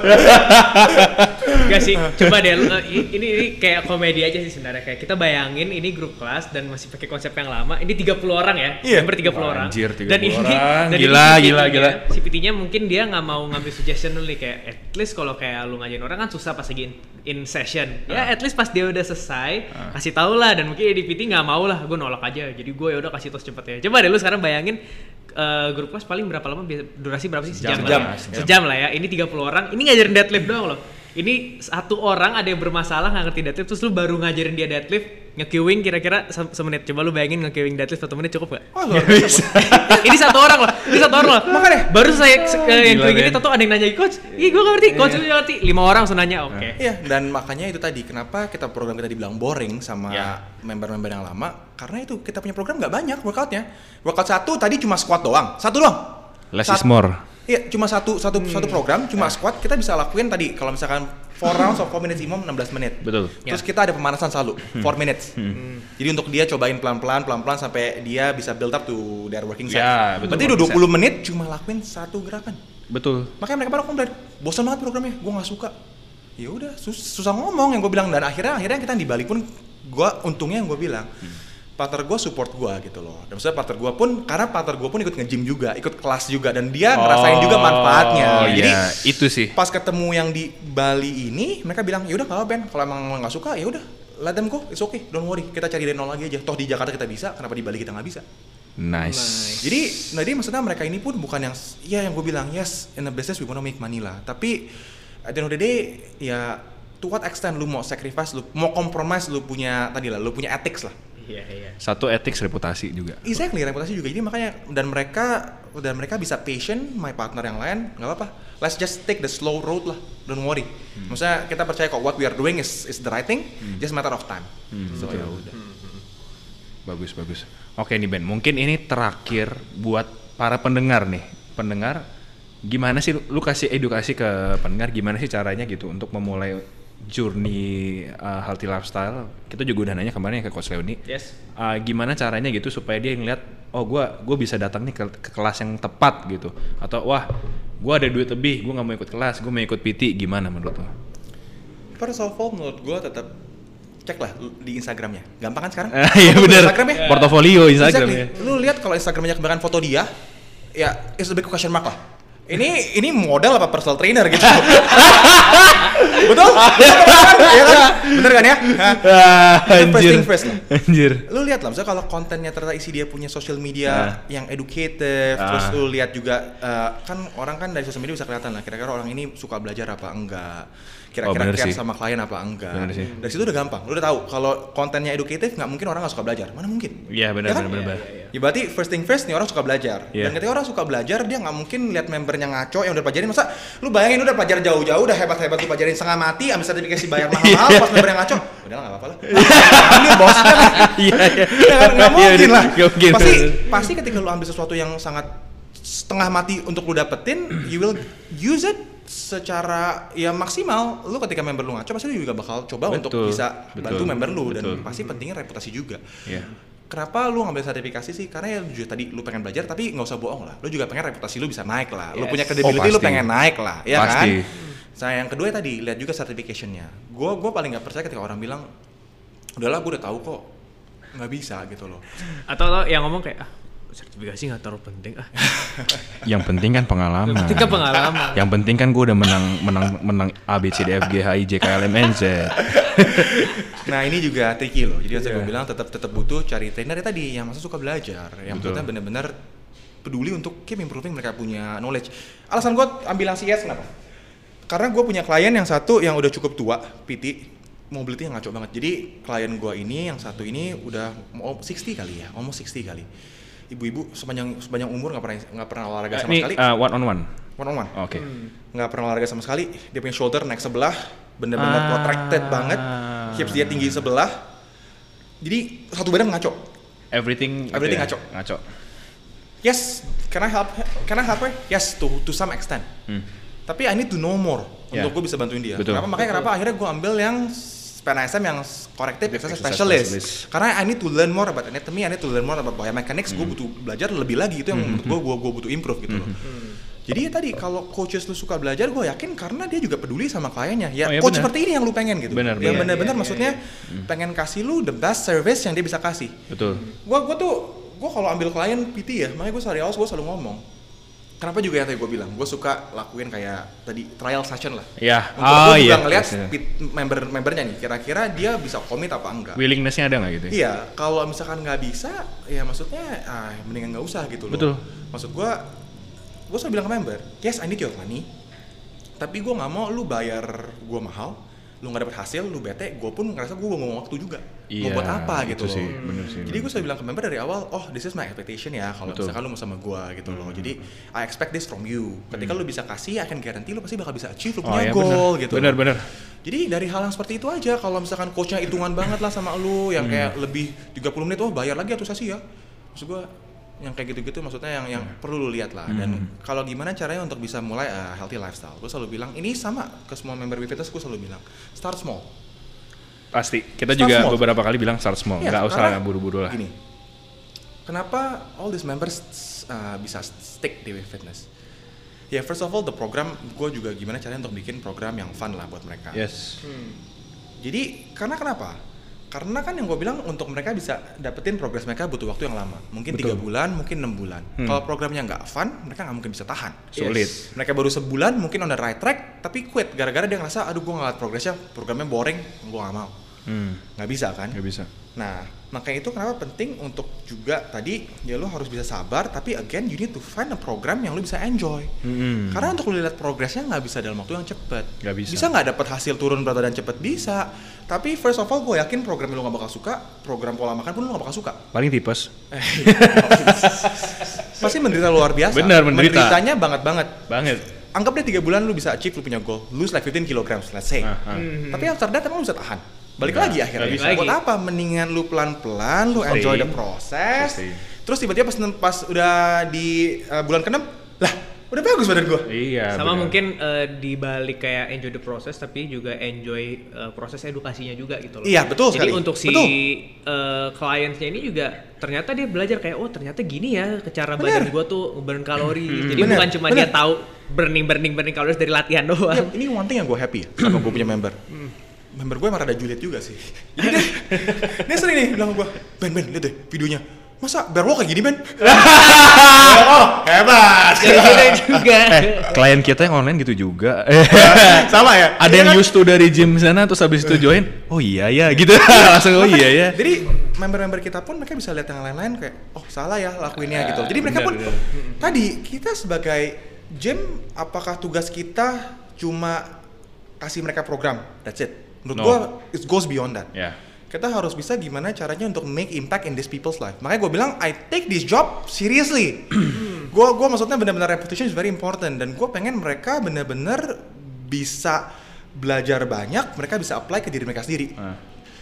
[SPEAKER 4] Gak sih, coba deh, lu, uh, i- ini, ini kayak komedi aja sih sebenarnya. Kayak kita bayangin ini grup kelas dan masih pakai konsep yang lama. Ini tiga puluh orang ya,
[SPEAKER 1] Iya.
[SPEAKER 4] member tiga puluh orang.
[SPEAKER 2] Anjir, tiga
[SPEAKER 4] Dan
[SPEAKER 2] puluh
[SPEAKER 4] ini,
[SPEAKER 2] orang.
[SPEAKER 4] dan
[SPEAKER 2] Gila,
[SPEAKER 4] ini
[SPEAKER 2] gila,
[SPEAKER 4] C P T-nya,
[SPEAKER 2] gila.
[SPEAKER 4] C P T-nya mungkin dia nggak mau ngambil suggestion dulu nih, kayak at least kalau kayak lu ngajarin orang kan susah pas lagi in, in session. Ya at least pas dia udah selesai, kasih tau lah. Dan mungkin D P T nggak mau lah, gue nolak aja. Jadi gue ya udah kasih tos cepet ya. Coba deh lu sekarang bayangin uh, grup kelas paling berapa lama? Biasa- Durasi berapa sih?
[SPEAKER 2] Sejam
[SPEAKER 4] Sejam,
[SPEAKER 2] lah,
[SPEAKER 4] lah ya.
[SPEAKER 2] sejam.
[SPEAKER 4] Sejam lah ya. Ini tiga puluh orang. Ini ngajarin deadlift doang loh. Ini satu orang ada yang bermasalah nggak ngerti deadlift, terus lu baru ngajarin dia deadlift, nge-queuing kira-kira se- semenit. Coba lu bayangin nge-queuing deadlift satu menit cukup gak?
[SPEAKER 1] Wah luar biasa. bos.
[SPEAKER 4] Ini satu orang loh, ini satu orang loh.
[SPEAKER 1] Makanya.
[SPEAKER 4] Baru saya se- eh, yang
[SPEAKER 2] Gila,
[SPEAKER 4] queuing ini
[SPEAKER 2] Ben.
[SPEAKER 4] tahu ada yang nanya, coach, ih gue gak ngerti, coach lu ngerti. Lima orang langsung nanya, oke.
[SPEAKER 1] Iya, dan makanya itu tadi kenapa kita program kita dibilang boring sama
[SPEAKER 2] Ya.
[SPEAKER 1] member-member yang lama, karena itu kita punya program nggak banyak workoutnya. Workout satu tadi cuma squat doang, satu doang.
[SPEAKER 2] Less
[SPEAKER 1] Sat-
[SPEAKER 2] is more.
[SPEAKER 1] Iya, cuma satu satu satu program, cuma squat kita bisa lakuin tadi kalau misalkan four rounds of four minutes imam enam belas menit.
[SPEAKER 2] Betul.
[SPEAKER 1] Terus kita ada pemanasan selalu four minutes. Jadi untuk dia cobain pelan-pelan pelan-pelan sampai dia bisa build up to their working set.
[SPEAKER 2] Ya, betul,
[SPEAKER 1] Berarti udah dua puluh menit cuma lakuin satu gerakan.
[SPEAKER 2] Betul.
[SPEAKER 1] Makanya mereka pada komplain, bosan banget programnya, gue nggak suka. Ya udah, sus- susah ngomong yang gue bilang, dan akhirnya akhirnya kita di Bali pun gue untungnya yang gue bilang, partner gue support gue gitu loh. Dan maksudnya partner gue pun, karena partner gue pun ikut nge-gym juga, ikut kelas juga, dan dia ngerasain juga manfaatnya.
[SPEAKER 2] Oh
[SPEAKER 1] Jadi
[SPEAKER 2] iya, itu sih.
[SPEAKER 1] pas ketemu yang di Bali ini, mereka bilang, ya udah nggak apa Ben, kalau emang lo nggak suka ya udah, let them go, it's okay, don't worry, kita cari dari nol lagi aja. Toh di Jakarta kita bisa, kenapa di Bali kita nggak bisa?
[SPEAKER 2] Nice.
[SPEAKER 1] Jadi, nah jadi maksudnya mereka ini pun bukan yang, ya yang gue bilang, yes, in a business we wanna make money lah. Tapi, at the end of the day, ya, to what extent lu mau sacrifice, lu mau compromise, lu punya, tadi lah, lu punya ethics lah.
[SPEAKER 4] Iya, iya.
[SPEAKER 2] Satu ethics reputasi juga.
[SPEAKER 1] Exactly, reputasi juga. Jadi makanya, dan mereka, dan mereka bisa patient, my partner yang lain, nggak apa-apa. Let's just take the slow road lah, don't worry.
[SPEAKER 2] Hmm.
[SPEAKER 1] Maksudnya kita percaya kok what we are doing is is the right thing, just matter of time.
[SPEAKER 2] Hmm,
[SPEAKER 1] So
[SPEAKER 2] betul.
[SPEAKER 1] ya udah.
[SPEAKER 2] Bagus, bagus. Oke nih Ben, mungkin ini terakhir buat para pendengar nih. Pendengar, gimana sih lu, lu kasih edukasi ke pendengar gimana sih caranya gitu untuk memulai journey uh, healthy lifestyle. Kita juga udah nanya kemarin ke Coach Leoni.
[SPEAKER 4] Yes.
[SPEAKER 2] Uh, gimana caranya gitu supaya dia ngeliat, oh gua gua bisa datang nih ke, ke kelas yang tepat gitu. Atau wah, gua ada duit lebih, gua nggak mau ikut kelas, gua mau ikut P T. Gimana menurut lo?
[SPEAKER 1] First of all, menurut gue tetap cek lah di Instagramnya. Gampang kan sekarang?
[SPEAKER 2] Iya
[SPEAKER 1] Foto
[SPEAKER 2] benar.
[SPEAKER 1] Instagram ya?
[SPEAKER 2] Portofolio Instagram ya.
[SPEAKER 1] Exactly. Lu lihat kalau Instagramnya kebanyakan foto dia, ya it's a big question mark lah. Ini ini model apa personal trainer gitu? Betul? Iya kan? Bener kan ya? Hah?
[SPEAKER 2] Ah,
[SPEAKER 1] Itu first thing first lah.
[SPEAKER 2] Anjir.
[SPEAKER 1] Lu lihat lah, misalnya kalau kontennya ternyata isi dia punya social media
[SPEAKER 2] Ah.
[SPEAKER 1] yang educative,
[SPEAKER 2] Ah.
[SPEAKER 1] terus lu lihat juga uh, kan orang kan dari social media bisa kelihatan lah kira-kira orang ini suka belajar apa enggak,
[SPEAKER 2] Oh,
[SPEAKER 1] kira-kira
[SPEAKER 2] bener
[SPEAKER 1] care
[SPEAKER 2] sih.
[SPEAKER 1] sama klien apa enggak.
[SPEAKER 2] Bener sih.
[SPEAKER 1] Dari situ udah gampang, lu udah tahu kalau kontennya educative nggak mungkin orang nggak suka belajar, mana mungkin?
[SPEAKER 2] Iya benar
[SPEAKER 1] Ya kan?
[SPEAKER 2] benar benar.
[SPEAKER 1] Ya berarti first thing first nih orang suka belajar.
[SPEAKER 2] Iya.
[SPEAKER 1] Dan ketika orang suka belajar dia nggak mungkin lihat membernya ngaco yang udah pelajarin, masa lu bayangin udah pelajar jauh-jauh udah hebat-hebat lu pelajarin setengah mati ambil sertifikasi bayar mahal-mahal pas member yang ngaco. Udah lah nggak apa-apa lah. Ini bosnya kan.
[SPEAKER 2] Iya iya.
[SPEAKER 1] Ya kan nggak mungkin lah.
[SPEAKER 2] Nggak mungkin.
[SPEAKER 1] Pasti pasti ketika lu ambil sesuatu yang sangat setengah mati untuk lu dapetin, you will use it secara ya maksimal. Lu ketika member lu ngaco pasti lu juga bakal coba
[SPEAKER 2] betul,
[SPEAKER 1] untuk bisa
[SPEAKER 2] betul,
[SPEAKER 1] bantu member lu
[SPEAKER 2] betul.
[SPEAKER 1] dan pasti pentingnya reputasi juga.
[SPEAKER 2] Yeah.
[SPEAKER 1] Kenapa lu ngambil sertifikasi sih? Karena ya juga tadi lu pengen belajar tapi nggak usah bohong lah. Lu juga pengen reputasi lu bisa naik lah. Yes. Lu punya credibility
[SPEAKER 2] oh,
[SPEAKER 1] lu pengen naik lah, ya
[SPEAKER 2] pasti.
[SPEAKER 1] kan? Nah yang kedua tadi lihat juga certification-nya. Gue gue paling nggak percaya ketika orang bilang, udahlah gue udah tahu kok, nggak bisa gitu loh.
[SPEAKER 4] Atau lo yang ngomong kayak ah sertifikasi nggak terlalu penting ah.
[SPEAKER 2] Yang penting kan pengalaman.
[SPEAKER 4] Yang penting kan pengalaman.
[SPEAKER 2] Yang penting kan gue udah menang menang menang A B C D F G H I J K L M N Z.
[SPEAKER 1] Nah ini juga tricky loh. Jadi yeah. gue bilang tetap tetap butuh cari trainer tadi yang masa suka belajar, yang maksudnya benar-benar peduli untuk keep improving mereka punya knowledge. Alasan gue ambil yang C S kenapa? Karena gue punya klien yang satu yang udah cukup tua, P T, mobility yang ngaco banget. Jadi klien gue ini yang satu ini udah mau enam puluh kali ya, almost enam puluh kali. Ibu-ibu sepanjang sepanjang umur nggak pernah nggak pernah olahraga
[SPEAKER 2] uh,
[SPEAKER 1] sama
[SPEAKER 2] ini,
[SPEAKER 1] sekali.
[SPEAKER 2] Uh, one on one.
[SPEAKER 1] One on one.
[SPEAKER 2] Oke. Okay.
[SPEAKER 1] Nggak hmm. pernah olahraga sama sekali. Dia punya shoulder naik sebelah, bener-bener ah. protracted banget. Hips dia tinggi sebelah. Jadi satu badan ngaco.
[SPEAKER 2] Everything.
[SPEAKER 1] Everything
[SPEAKER 2] okay.
[SPEAKER 1] ngaco.
[SPEAKER 2] Ngaco.
[SPEAKER 1] Yes, can I help? Can I help her? Yes, to to some extent. Hmm. Tapi I need to know more yeah. untuk gue bisa bantuin dia.
[SPEAKER 2] Betul.
[SPEAKER 1] Kenapa? Makanya
[SPEAKER 4] Betul.
[SPEAKER 1] kenapa akhirnya gue ambil yang P N S M yang corrective exercise specialist. specialist. Karena I need to learn more about anatomy, I need to learn more about biomechanics. Mm. Gue butuh belajar lebih lagi, itu yang menurut gue gue gue butuh improve gitu mm. loh. Mm. Jadi ya tadi kalau coaches lu suka belajar, gue yakin karena dia juga peduli sama kliennya. Ya, oh, ya coach bener. Seperti ini yang lu pengen gitu.
[SPEAKER 2] Bener,
[SPEAKER 1] yang
[SPEAKER 2] bener.
[SPEAKER 1] benar-benar
[SPEAKER 4] iya,
[SPEAKER 1] maksudnya
[SPEAKER 4] iya, iya.
[SPEAKER 1] pengen kasih lu the best service yang dia bisa kasih.
[SPEAKER 2] Betul.
[SPEAKER 1] Gue gue tuh gue kalau ambil klien P T ya, makanya gue sehari awal gue selalu ngomong. Kenapa juga yang tadi gue bilang, gue suka lakuin kayak tadi trial session lah.
[SPEAKER 2] Iya.
[SPEAKER 1] Untuk
[SPEAKER 2] oh,
[SPEAKER 1] gue juga
[SPEAKER 2] iya.
[SPEAKER 1] ngeliat
[SPEAKER 2] yes,
[SPEAKER 1] member-membernya nih, kira-kira dia bisa commit apa enggak.
[SPEAKER 2] Willingness-nya ada nggak gitu?
[SPEAKER 1] Iya, kalau misalkan nggak bisa, ya maksudnya ah, mendingan nggak usah gitu loh.
[SPEAKER 2] Betul.
[SPEAKER 1] Maksud gue, gue selalu bilang ke member, yes I need your money, tapi gue nggak mau lu bayar gue mahal, lu nggak dapet hasil, lu bete, gue pun ngerasa gue ngomong waktu juga.
[SPEAKER 2] Iya,
[SPEAKER 1] mau buat apa gitu loh.
[SPEAKER 2] Sih, bener sih,
[SPEAKER 1] jadi gue selalu bilang ke member dari awal, oh this is my expectation ya kalau misalkan lu mau sama gue gitu loh. Jadi I expect this from you. Ketika hmm. lu bisa kasih, I can guarantee lu pasti bakal bisa achieve lu
[SPEAKER 2] oh,
[SPEAKER 1] punya
[SPEAKER 2] ya,
[SPEAKER 1] goal
[SPEAKER 2] bener.
[SPEAKER 1] gitu.
[SPEAKER 2] Bener bener.
[SPEAKER 1] Jadi dari hal yang seperti itu aja, kalau misalkan coachnya hitungan banget lah sama lu, yang hmm. kayak lebih tiga puluh menit, oh bayar lagi atau sesi ya. Maksud gue yang kayak gitu-gitu maksudnya yang yang hmm. perlu lu lihat lah. Dan hmm. kalau gimana caranya untuk bisa mulai a healthy lifestyle, gue selalu bilang ini sama ke semua member Wifitness, gue selalu bilang start small.
[SPEAKER 2] Pasti, kita
[SPEAKER 1] start
[SPEAKER 2] juga
[SPEAKER 1] small.
[SPEAKER 2] beberapa kali bilang start small,
[SPEAKER 1] ya,
[SPEAKER 2] nggak usah buru-buru lah.
[SPEAKER 1] Gini, kenapa all these members uh, bisa stick di Wifitness? Ya yeah, first of all the program, gue juga gimana caranya untuk bikin program yang fun lah buat mereka.
[SPEAKER 2] Yes.
[SPEAKER 1] Hmm. Jadi karena kenapa? Karena kan yang gue bilang untuk mereka bisa dapetin progres mereka butuh waktu yang lama. Mungkin tiga bulan, mungkin enam bulan. Hmm. Kalau programnya nggak fun, mereka nggak mungkin bisa tahan.
[SPEAKER 2] Sulit.
[SPEAKER 1] Yes. Mereka baru sebulan mungkin on the right track, tapi quit gara-gara dia ngerasa, aduh gue ngeliat progresnya, programnya boring, gue nggak mau. Hmm. Nggak bisa kan?
[SPEAKER 2] Nggak bisa.
[SPEAKER 1] Nah, makanya itu kenapa penting untuk juga tadi ya lo harus bisa sabar, tapi again you need to find a program yang lo bisa enjoy. Hmm. Karena untuk lo lihat progresnya nggak bisa dalam waktu yang cepet.
[SPEAKER 2] Nggak bisa.
[SPEAKER 1] Bisa nggak dapat hasil turun berat badan cepet? Bisa. Tapi first of all gue yakin program lo nggak bakal suka, program pola makan pun lo nggak bakal suka.
[SPEAKER 2] Paling tipes.
[SPEAKER 1] Pasti menderita luar biasa.
[SPEAKER 2] Benar, menderita.
[SPEAKER 1] Menderitanya banget banget.
[SPEAKER 2] Banget.
[SPEAKER 1] Anggap deh tiga bulan lo bisa achieve lo punya goal, lose like fifteen kilograms, let's say. Uh-huh. Mm-hmm. Tapi after that emang lo bisa tahan. Balik nah, lagi akhirnya. Bisa. Buat apa? Mendingan lu pelan-pelan, lu enjoy the process. Sustain. Terus tiba-tiba pas, pas udah di uh, bulan keenam, lah udah bagus badan gua.
[SPEAKER 2] Iya.
[SPEAKER 4] Sama bener. Mungkin uh, di balik kayak enjoy the process, tapi juga enjoy uh, proses edukasinya juga gitu loh.
[SPEAKER 1] Iya betul
[SPEAKER 4] Jadi
[SPEAKER 1] sekali.
[SPEAKER 4] untuk si uh, kliennya ini juga ternyata dia belajar kayak oh ternyata gini ya cara bener. Badan gua tuh burn kalori. Hmm. Jadi bener. Bukan cuma bener. Dia tahu burning burning burning kalori dari latihan doang. Ya,
[SPEAKER 1] ini one thing yang gua happy ya sama gua punya member. Member gue emang rada julid juga sih. Jadi dia, dia sering nih bilang ke gue, Ben, Ben, lihat deh videonya. Masa bear walk kayak gini, Ben? Oh, hebat.
[SPEAKER 4] Jadi juga.
[SPEAKER 2] Eh, klien kita yang online gitu juga.
[SPEAKER 1] Sama ya?
[SPEAKER 2] Ada yang used to dari gym sana, terus habis itu join, oh iya ya, gitu. Langsung oh iya ya.
[SPEAKER 1] Jadi member-member kita pun mereka bisa lihat yang lain-lain kayak, oh salah ya lakuinnya gitu. Jadi mereka pun, tadi kita sebagai gym, apakah tugas kita cuma kasih mereka program, that's it. Menurut no. gue, it goes beyond that.
[SPEAKER 2] Yeah.
[SPEAKER 1] Kita harus bisa gimana caranya untuk make impact in these people's life. Makanya gue bilang, I take this job seriously. Gue gue maksudnya benar-benar reputation is very important. Dan gue pengen mereka benar-benar bisa belajar banyak, mereka bisa apply ke diri mereka sendiri. Uh.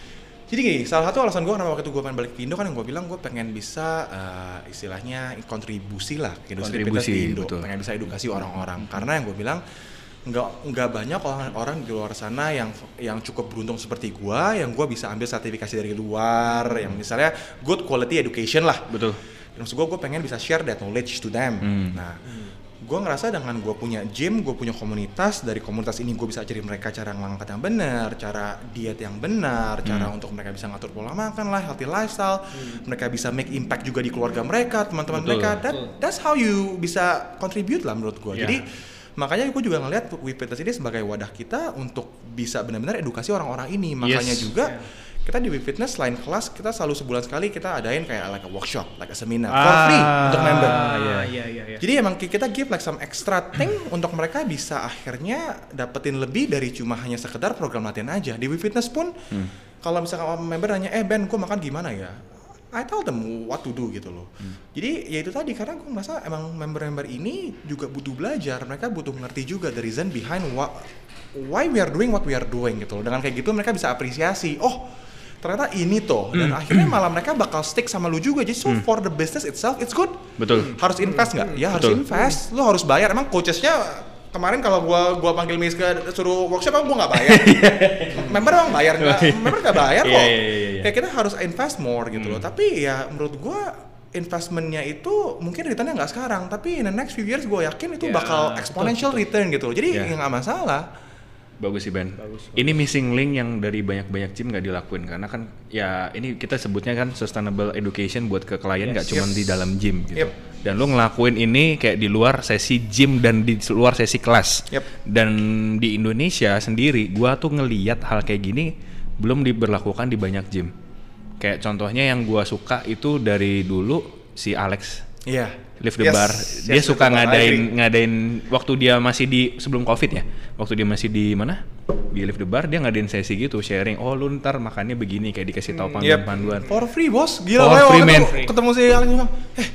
[SPEAKER 1] Jadi gini, salah satu alasan gue kenapa waktu itu gue pengen balik ke Indo kan yang gue bilang gue pengen bisa uh, istilahnya kontribusi lah ke industri fitness di Indo, betul. Pengen bisa edukasi orang-orang. Karena yang gue bilang nggak nggak banyak orang-orang di luar sana yang yang cukup beruntung seperti gue, yang gue bisa ambil sertifikasi dari luar, yang misalnya good quality education lah.
[SPEAKER 2] Betul.
[SPEAKER 1] Dan maksud gue, gue pengen bisa share that knowledge to them. Hmm. Nah. Hmm. Gue ngerasa dengan gue punya gym, gue punya komunitas, dari komunitas ini gue bisa ajarin mereka cara ngangkat yang benar, cara diet yang benar, hmm. cara untuk mereka bisa ngatur pola makan lah, healthy lifestyle, hmm. mereka bisa make impact juga di keluarga mereka, teman-teman Betul. mereka. That, that's how you bisa contribute lah menurut gue. Yeah. Jadi makanya gue juga ngelihat WeFitness ini sebagai wadah kita untuk bisa benar-benar edukasi orang-orang ini. Makanya yes. juga yeah. kita di WeFitness selain kelas, kita selalu sebulan sekali kita adain kayak like a workshop, like a seminar ah, for free untuk member.
[SPEAKER 4] Iya, iya, iya, iya.
[SPEAKER 1] Jadi emang kita give like some extra thing untuk mereka bisa akhirnya dapetin lebih dari cuma hanya sekedar program latihan aja. Di WeFitness pun, hmm. kalau misalkan member nanya, eh Ben, gue makan gimana ya? I tell them what to do gitu loh. Hmm. Jadi ya itu tadi, karena gue merasa emang member-member ini juga butuh belajar. Mereka butuh ngerti juga the reason behind what, why we are doing what we are doing gitu loh. Dengan kayak gitu mereka bisa apresiasi. Oh, ternyata ini tuh, dan mm. akhirnya malah mereka bakal stick sama lu juga. Jadi so mm. for the business itself it's good.
[SPEAKER 2] Betul.
[SPEAKER 1] Harus invest nggak? Ya harus Betul. invest. Lu harus bayar. Emang coachesnya kemarin kalau gua gua panggil Miska suruh workshop, emang gua nggak bayar. Member emang bayar nggak? Member nggak bayar kok. Yeah, yeah, yeah, yeah. Kayak kita harus invest more gitu mm. loh. Tapi ya menurut gua investmentnya itu mungkin returnnya nggak sekarang, tapi in the next few years gua yakin itu yeah. bakal exponential betul, return gitu loh. Jadi yeah. ya nggak masalah.
[SPEAKER 2] Bagus sih Ben.
[SPEAKER 4] Bagus, bagus.
[SPEAKER 2] Ini missing link yang dari banyak-banyak gym nggak dilakuin karena kan ya ini kita sebutnya kan sustainable education buat ke klien nggak yes, cuma yes. di dalam gym gitu. Yep. Dan lu ngelakuin ini kayak di luar sesi gym dan di luar sesi kelas.
[SPEAKER 1] Yep.
[SPEAKER 2] Dan di Indonesia sendiri, gua tuh ngelihat hal kayak gini belum diberlakukan di banyak gym. Kayak contohnya yang gua suka itu dari dulu si Alex.
[SPEAKER 1] Iya. Yeah.
[SPEAKER 2] Lift the yes, bar, dia yes, suka ngadain ngadain waktu dia masih di sebelum covid ya, waktu dia masih di mana di Lift the Bar, dia ngadain sesi gitu sharing, oh lu ntar makannya begini, kayak dikasih tahu panduan-panduan.
[SPEAKER 1] Yep. For free bos, gila.
[SPEAKER 2] For free man.
[SPEAKER 1] Ketemu si Alex bilang, eh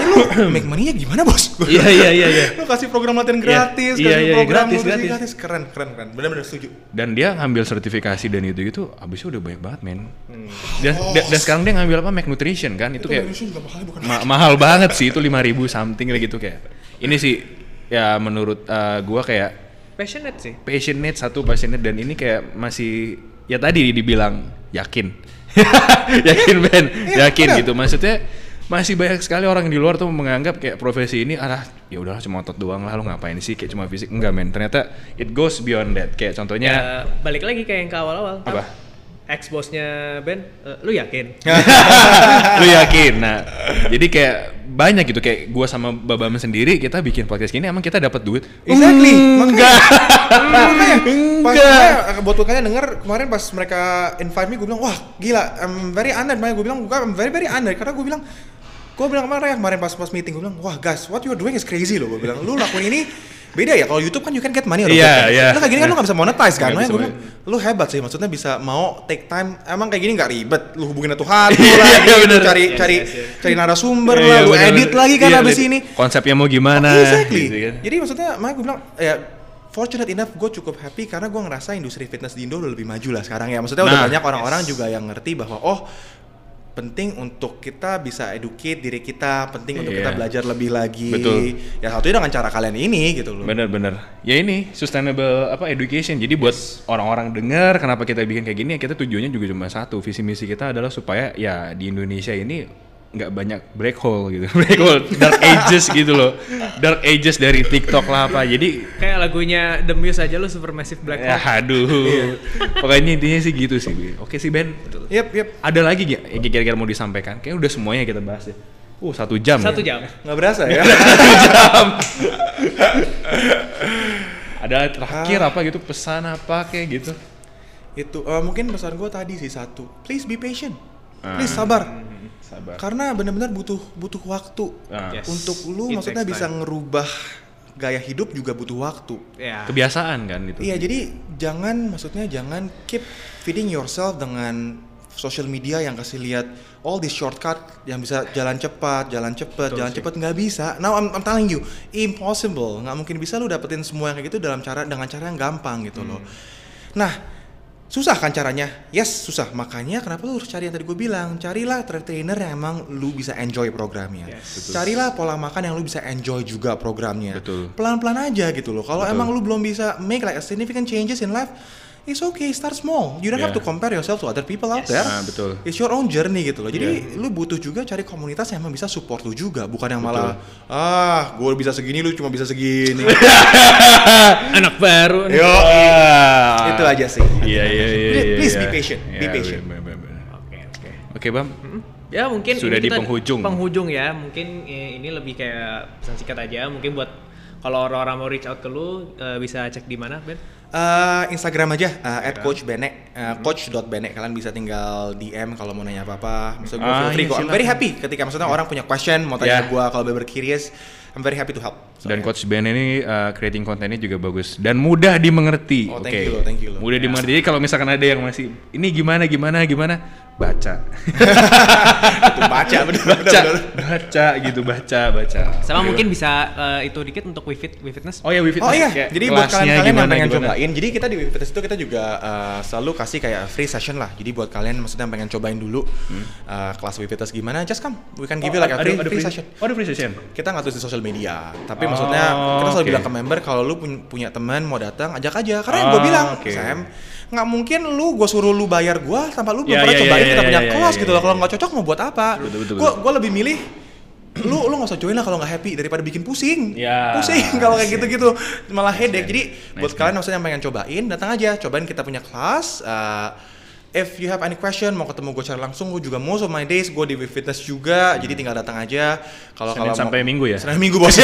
[SPEAKER 1] lu make money-nya gimana bos?
[SPEAKER 2] Iya iya iya iya.
[SPEAKER 1] Lu kasih program latihan gratis,
[SPEAKER 2] yeah,
[SPEAKER 1] kasih
[SPEAKER 2] yeah,
[SPEAKER 1] program
[SPEAKER 2] gratis,
[SPEAKER 1] gratis.
[SPEAKER 2] gratis.
[SPEAKER 1] Keren keren keren, benar-benar setuju.
[SPEAKER 2] Dan dia ngambil sertifikasi dan itu gitu, abisnya udah banyak banget men. Hmm. Dan, oh. dan, dan sekarang dia ngambil apa, Mac Nutrition kan, itu, itu kayak
[SPEAKER 1] mahal, bukan
[SPEAKER 2] ma- mahal banget sih, itu lima ribu something kayak gitu kayak. Ini sih ya menurut uh, gua kayak
[SPEAKER 4] passionate sih.
[SPEAKER 2] Passionate satu passionate dan ini kayak masih ya tadi dibilang yakin. yakin Ben, yakin ya, gitu maksudnya. Masih banyak sekali orang di luar tuh menganggap kayak profesi ini ah ya udahlah cuma otot doang lah, lu ngapain sih kayak cuma fisik. Enggak men, ternyata it goes beyond that. Kayak contohnya
[SPEAKER 4] ya, balik lagi kayak yang ke awal-awal.
[SPEAKER 2] Apa?
[SPEAKER 4] Ex-bosnya Ben, uh, lu yakin?
[SPEAKER 2] Lu yakin? Nah, jadi kayak banyak gitu, kayak gua sama Babam sendiri kita bikin podcast gini emang kita dapat duit.
[SPEAKER 1] Exactly.
[SPEAKER 2] Enggak.
[SPEAKER 1] Makanya pas buat kalian denger kemarin pas mereka invite me, gue bilang wah gila, I'm very honored. Makanya gue bilang I'm very very honored karena gue bilang gue bilang kemarin kemarin pas pas meeting gue bilang wah guys, what you are doing is crazy loh. Gue bilang lu lakuin ini beda ya, kalau YouTube kan you can get money.
[SPEAKER 2] Iya, yeah, iya.
[SPEAKER 1] Nah kayak gini kan lu gak bisa monetize kan. Makanya gue bilang lu hebat sih, maksudnya bisa mau take time. Emang kayak gini gak ribet, lu hubungin Tuhan lu lagi, lu cari
[SPEAKER 2] yes,
[SPEAKER 1] cari
[SPEAKER 2] yes, yes.
[SPEAKER 1] cari narasumber yeah, lah, yeah, lu bener, edit bener. lagi kan yeah, abis ini
[SPEAKER 2] konsepnya mau gimana.
[SPEAKER 1] Oh, exactly
[SPEAKER 2] gitu kan.
[SPEAKER 1] Jadi maksudnya makanya gue bilang ya fortunate enough, gue cukup happy karena gue ngerasa industri fitness di Indo udah lebih maju lah sekarang ya. Maksudnya nah, udah banyak orang-orang yes. juga yang ngerti bahwa oh penting untuk kita bisa educate diri kita, penting yeah. untuk kita belajar lebih lagi.
[SPEAKER 2] Betul.
[SPEAKER 1] Ya satunya dengan cara kalian ini gitu loh.
[SPEAKER 2] Bener-bener. Ya ini sustainable apa education. Jadi buat yes. orang-orang dengar kenapa kita bikin kayak gini, ya kita tujuannya juga cuma satu. Visi misi kita adalah supaya ya di Indonesia ini nggak banyak black hole gitu, black hole, dark ages gitu loh, dark ages dari TikTok lah apa. Jadi
[SPEAKER 4] kayak lagunya The Muse aja lo supermassive black hole.
[SPEAKER 2] Ya, aduh. Pokoknya intinya sih gitu sih. Oke sih Ben.
[SPEAKER 1] Yep, yep.
[SPEAKER 2] Ada lagi gak yang kira-kira mau disampaikan? Kayaknya udah semuanya kita bahas ya. Uh, satu jam.
[SPEAKER 4] Satu
[SPEAKER 2] ya?
[SPEAKER 4] jam.
[SPEAKER 1] Nggak berasa ya?
[SPEAKER 2] Satu jam. Ada terakhir ah. apa gitu, pesan apa kayak gitu?
[SPEAKER 1] Itu uh, mungkin pesan gue tadi sih satu. Please be patient. Please ah. sabar. Sabar. Karena benar-benar butuh butuh waktu ah. yes. untuk lu, it maksudnya bisa time. ngerubah gaya hidup juga butuh waktu.
[SPEAKER 2] Yeah. Kebiasaan kan itu.
[SPEAKER 1] Iya, jadi jangan maksudnya jangan keep feeding yourself dengan social media yang kasih lihat all this shortcut yang bisa jalan cepat, jalan cepat, jalan cepat, nggak bisa. Now I'm, I'm telling you, impossible. Nggak mungkin bisa lu dapetin semua yang kayak gitu dalam cara dengan cara yang gampang gitu hmm. loh. Nah, Susah kan caranya? Yes, susah. Makanya kenapa lu harus cari yang tadi gue bilang. Carilah trainer yang emang lu bisa enjoy programnya.
[SPEAKER 2] Yes,
[SPEAKER 1] Carilah pola makan yang lu bisa enjoy juga programnya.
[SPEAKER 2] Betul.
[SPEAKER 1] Pelan-pelan aja gitu loh. Kalau emang lu belum bisa make like a significant changes in life, it's okay, start small. You don't
[SPEAKER 2] Yeah.
[SPEAKER 1] have to compare yourself to other people out
[SPEAKER 4] Yes.
[SPEAKER 1] there.
[SPEAKER 2] Ah, betul.
[SPEAKER 1] It's your own journey gitu loh. Jadi lu butuh juga cari komunitas yang emang bisa support lu juga. Bukan yang malah, ah gue bisa segini, lu cuma bisa segini.
[SPEAKER 4] Anak baru nih.
[SPEAKER 1] Yo,
[SPEAKER 2] Ah.
[SPEAKER 1] itu aja sih.
[SPEAKER 2] Iya iya iya.
[SPEAKER 1] Please-
[SPEAKER 2] iya,
[SPEAKER 1] please
[SPEAKER 2] iya.
[SPEAKER 1] be patient, be
[SPEAKER 2] Iya,
[SPEAKER 1] patient.
[SPEAKER 2] bener, bener, bener.
[SPEAKER 4] Oke oke.
[SPEAKER 2] Oke Bam.
[SPEAKER 4] Ya mungkin
[SPEAKER 2] Sudah
[SPEAKER 4] ini
[SPEAKER 2] di
[SPEAKER 4] kita
[SPEAKER 2] penghujung.
[SPEAKER 4] Penghujung ya. Mungkin eh, ini lebih kayak pesan singkat aja. Mungkin buat kalau orang-orang mau reach out ke lu eh, bisa cek di mana, Ben?
[SPEAKER 1] Uh, Instagram aja uh, at coach bene uh, coach dot bene. Kalian bisa tinggal D M kalau mau nanya apa-apa. Maksudnya gue
[SPEAKER 2] Ah,
[SPEAKER 1] feel free
[SPEAKER 2] iya,
[SPEAKER 1] kok. I'm
[SPEAKER 2] silakan.
[SPEAKER 1] very happy ketika maksudnya orang punya question mau tanya
[SPEAKER 2] Yeah.
[SPEAKER 1] gue kalau bener curious. I'm very happy to help. So,
[SPEAKER 2] Dan Coach Ben ini uh, creating kontennya juga bagus dan mudah dimengerti.
[SPEAKER 1] Oh,
[SPEAKER 2] Oke.
[SPEAKER 1] thank you loh, thank you loh.
[SPEAKER 2] Mudah dimengerti. Jadi kalau misalkan ada yang masih ini gimana gimana gimana baca.
[SPEAKER 1] itu baca bener
[SPEAKER 2] baca,
[SPEAKER 1] bener.
[SPEAKER 2] baca gitu, baca, baca.
[SPEAKER 4] Sama
[SPEAKER 2] Oke,
[SPEAKER 4] mungkin
[SPEAKER 2] Bam.
[SPEAKER 4] bisa eh, itu dikit untuk WeFit, WeFitness.
[SPEAKER 2] Oh ya, WeFit.
[SPEAKER 1] Oh iya,
[SPEAKER 2] Kayak
[SPEAKER 1] jadi buat
[SPEAKER 2] kelasnya
[SPEAKER 1] kalian-kalian yang
[SPEAKER 2] gimana,
[SPEAKER 1] pengen
[SPEAKER 2] gimana?
[SPEAKER 1] cobain, jadi kita di Webfitness itu kita juga uh, selalu kasih kayak free session lah. Jadi buat kalian maksudnya yang pengen cobain dulu uh, kelas Webfitness gimana, just come. We can give you like a
[SPEAKER 2] ada-
[SPEAKER 1] free,
[SPEAKER 2] ada
[SPEAKER 1] free session.
[SPEAKER 2] Oh, ada free session.
[SPEAKER 1] Kita nggak tulis di sosial media, tapi
[SPEAKER 2] Oh,
[SPEAKER 1] maksudnya kita selalu
[SPEAKER 2] oke.
[SPEAKER 1] bilang ke member kalau lu pun- punya teman mau datang, ajak aja. Karena yang
[SPEAKER 2] Oh,
[SPEAKER 1] gue bilang,
[SPEAKER 2] oke.
[SPEAKER 1] Sam, nggak mungkin lu gue suruh lu bayar gue tanpa lu belum
[SPEAKER 2] Ya,
[SPEAKER 1] pernah
[SPEAKER 2] ya,
[SPEAKER 1] cobain
[SPEAKER 2] ya,
[SPEAKER 1] kita
[SPEAKER 2] ya,
[SPEAKER 1] punya
[SPEAKER 2] ya,
[SPEAKER 1] kelas
[SPEAKER 2] ya,
[SPEAKER 1] gitu
[SPEAKER 2] ya,
[SPEAKER 1] loh. Kalau
[SPEAKER 2] ya.
[SPEAKER 1] nggak cocok mau buat apa?
[SPEAKER 2] Betul, betul,
[SPEAKER 1] Gue
[SPEAKER 2] betul.
[SPEAKER 1] gue lebih milih lu lu nggak usah join lah kalau nggak happy daripada bikin pusing.
[SPEAKER 2] Ya,
[SPEAKER 1] Pusing kalau kayak
[SPEAKER 2] yes,
[SPEAKER 1] gitu-gitu malah headache. Jadi buat
[SPEAKER 2] nice,
[SPEAKER 1] kalian maksudnya yang pengen cobain, datang aja, cobain kita punya kelas. Uh, If you have any question, mau ketemu gue secara langsung, gue juga most of my days gue di Webfitness juga, jadi tinggal datang aja. Kalau
[SPEAKER 2] Senin
[SPEAKER 1] kalau
[SPEAKER 2] sampai
[SPEAKER 1] mau-
[SPEAKER 2] Minggu ya?
[SPEAKER 1] Senin Minggu bos. Yo.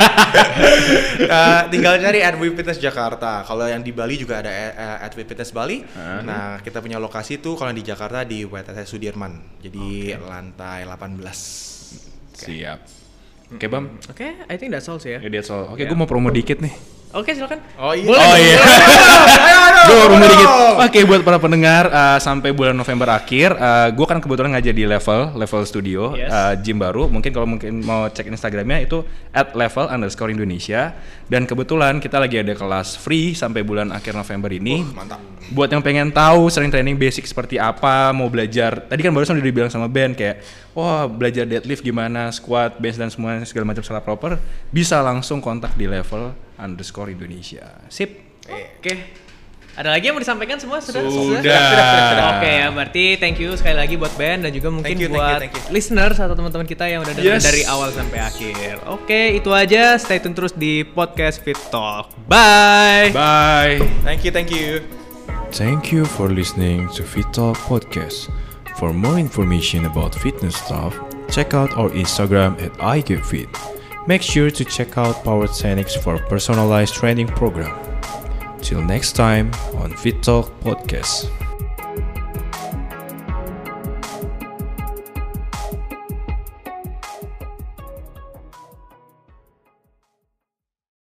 [SPEAKER 1] Uh, tinggal cari at Webfitness Jakarta. Kalau yang di Bali juga ada uh, at Webfitness Bali.
[SPEAKER 2] Uh-huh.
[SPEAKER 1] Nah kita punya lokasi tuh kalau yang di Jakarta di W T S Sudirman, jadi lantai delapan belas.
[SPEAKER 2] Siap. Oke, Bam.
[SPEAKER 4] Oke, I think that's all sih ya.
[SPEAKER 2] Ya, that's all. Oke,
[SPEAKER 4] Ya.
[SPEAKER 2] gue mau promo dikit nih.
[SPEAKER 4] Oke, silakan.
[SPEAKER 1] Oh iya.
[SPEAKER 4] Boleh.
[SPEAKER 2] Oh iya.
[SPEAKER 1] Ayo, ayo,
[SPEAKER 2] Gue promo
[SPEAKER 1] ayo.
[SPEAKER 2] dikit. Oke, buat para pendengar uh, sampai bulan November akhir, uh, gue kan kebetulan ngajar di level level studio,
[SPEAKER 4] Yes.
[SPEAKER 2] uh, gym baru. Mungkin kalau mungkin mau cek Instagramnya itu at level underscore Indonesia. Dan kebetulan kita lagi ada kelas free sampai bulan akhir November ini.
[SPEAKER 1] Uh, mantap.
[SPEAKER 2] Buat yang pengen tahu sering training basic seperti apa, mau belajar. Tadi kan barusan udah dibilang sama Ben kayak, wah belajar deadlift gimana, squat, bench dan semua segala macam secara proper, bisa langsung kontak di level underscore Indonesia. Sip.
[SPEAKER 4] Oke. Ada lagi yang mau disampaikan semua? Sudah?
[SPEAKER 2] Sudah.
[SPEAKER 4] Oke ya, berarti thank you sekali lagi buat Ben dan juga mungkin
[SPEAKER 1] Thank you, thank you,
[SPEAKER 4] buat
[SPEAKER 1] thank you.
[SPEAKER 4] listeners atau teman-teman kita yang udah dengerin
[SPEAKER 2] Yes.
[SPEAKER 4] dari awal sampai akhir. Oke, itu aja. Stay tune terus di podcast Fit Talk. Bye.
[SPEAKER 2] Bye.
[SPEAKER 1] Thank you, thank you.
[SPEAKER 3] Thank you for listening to Fit Talk Podcast. For more information about fitness stuff, check out our Instagram at I Get Fit. Make sure to check out Power Techniques for personalized training program. Till next time on Fit Talk Podcast.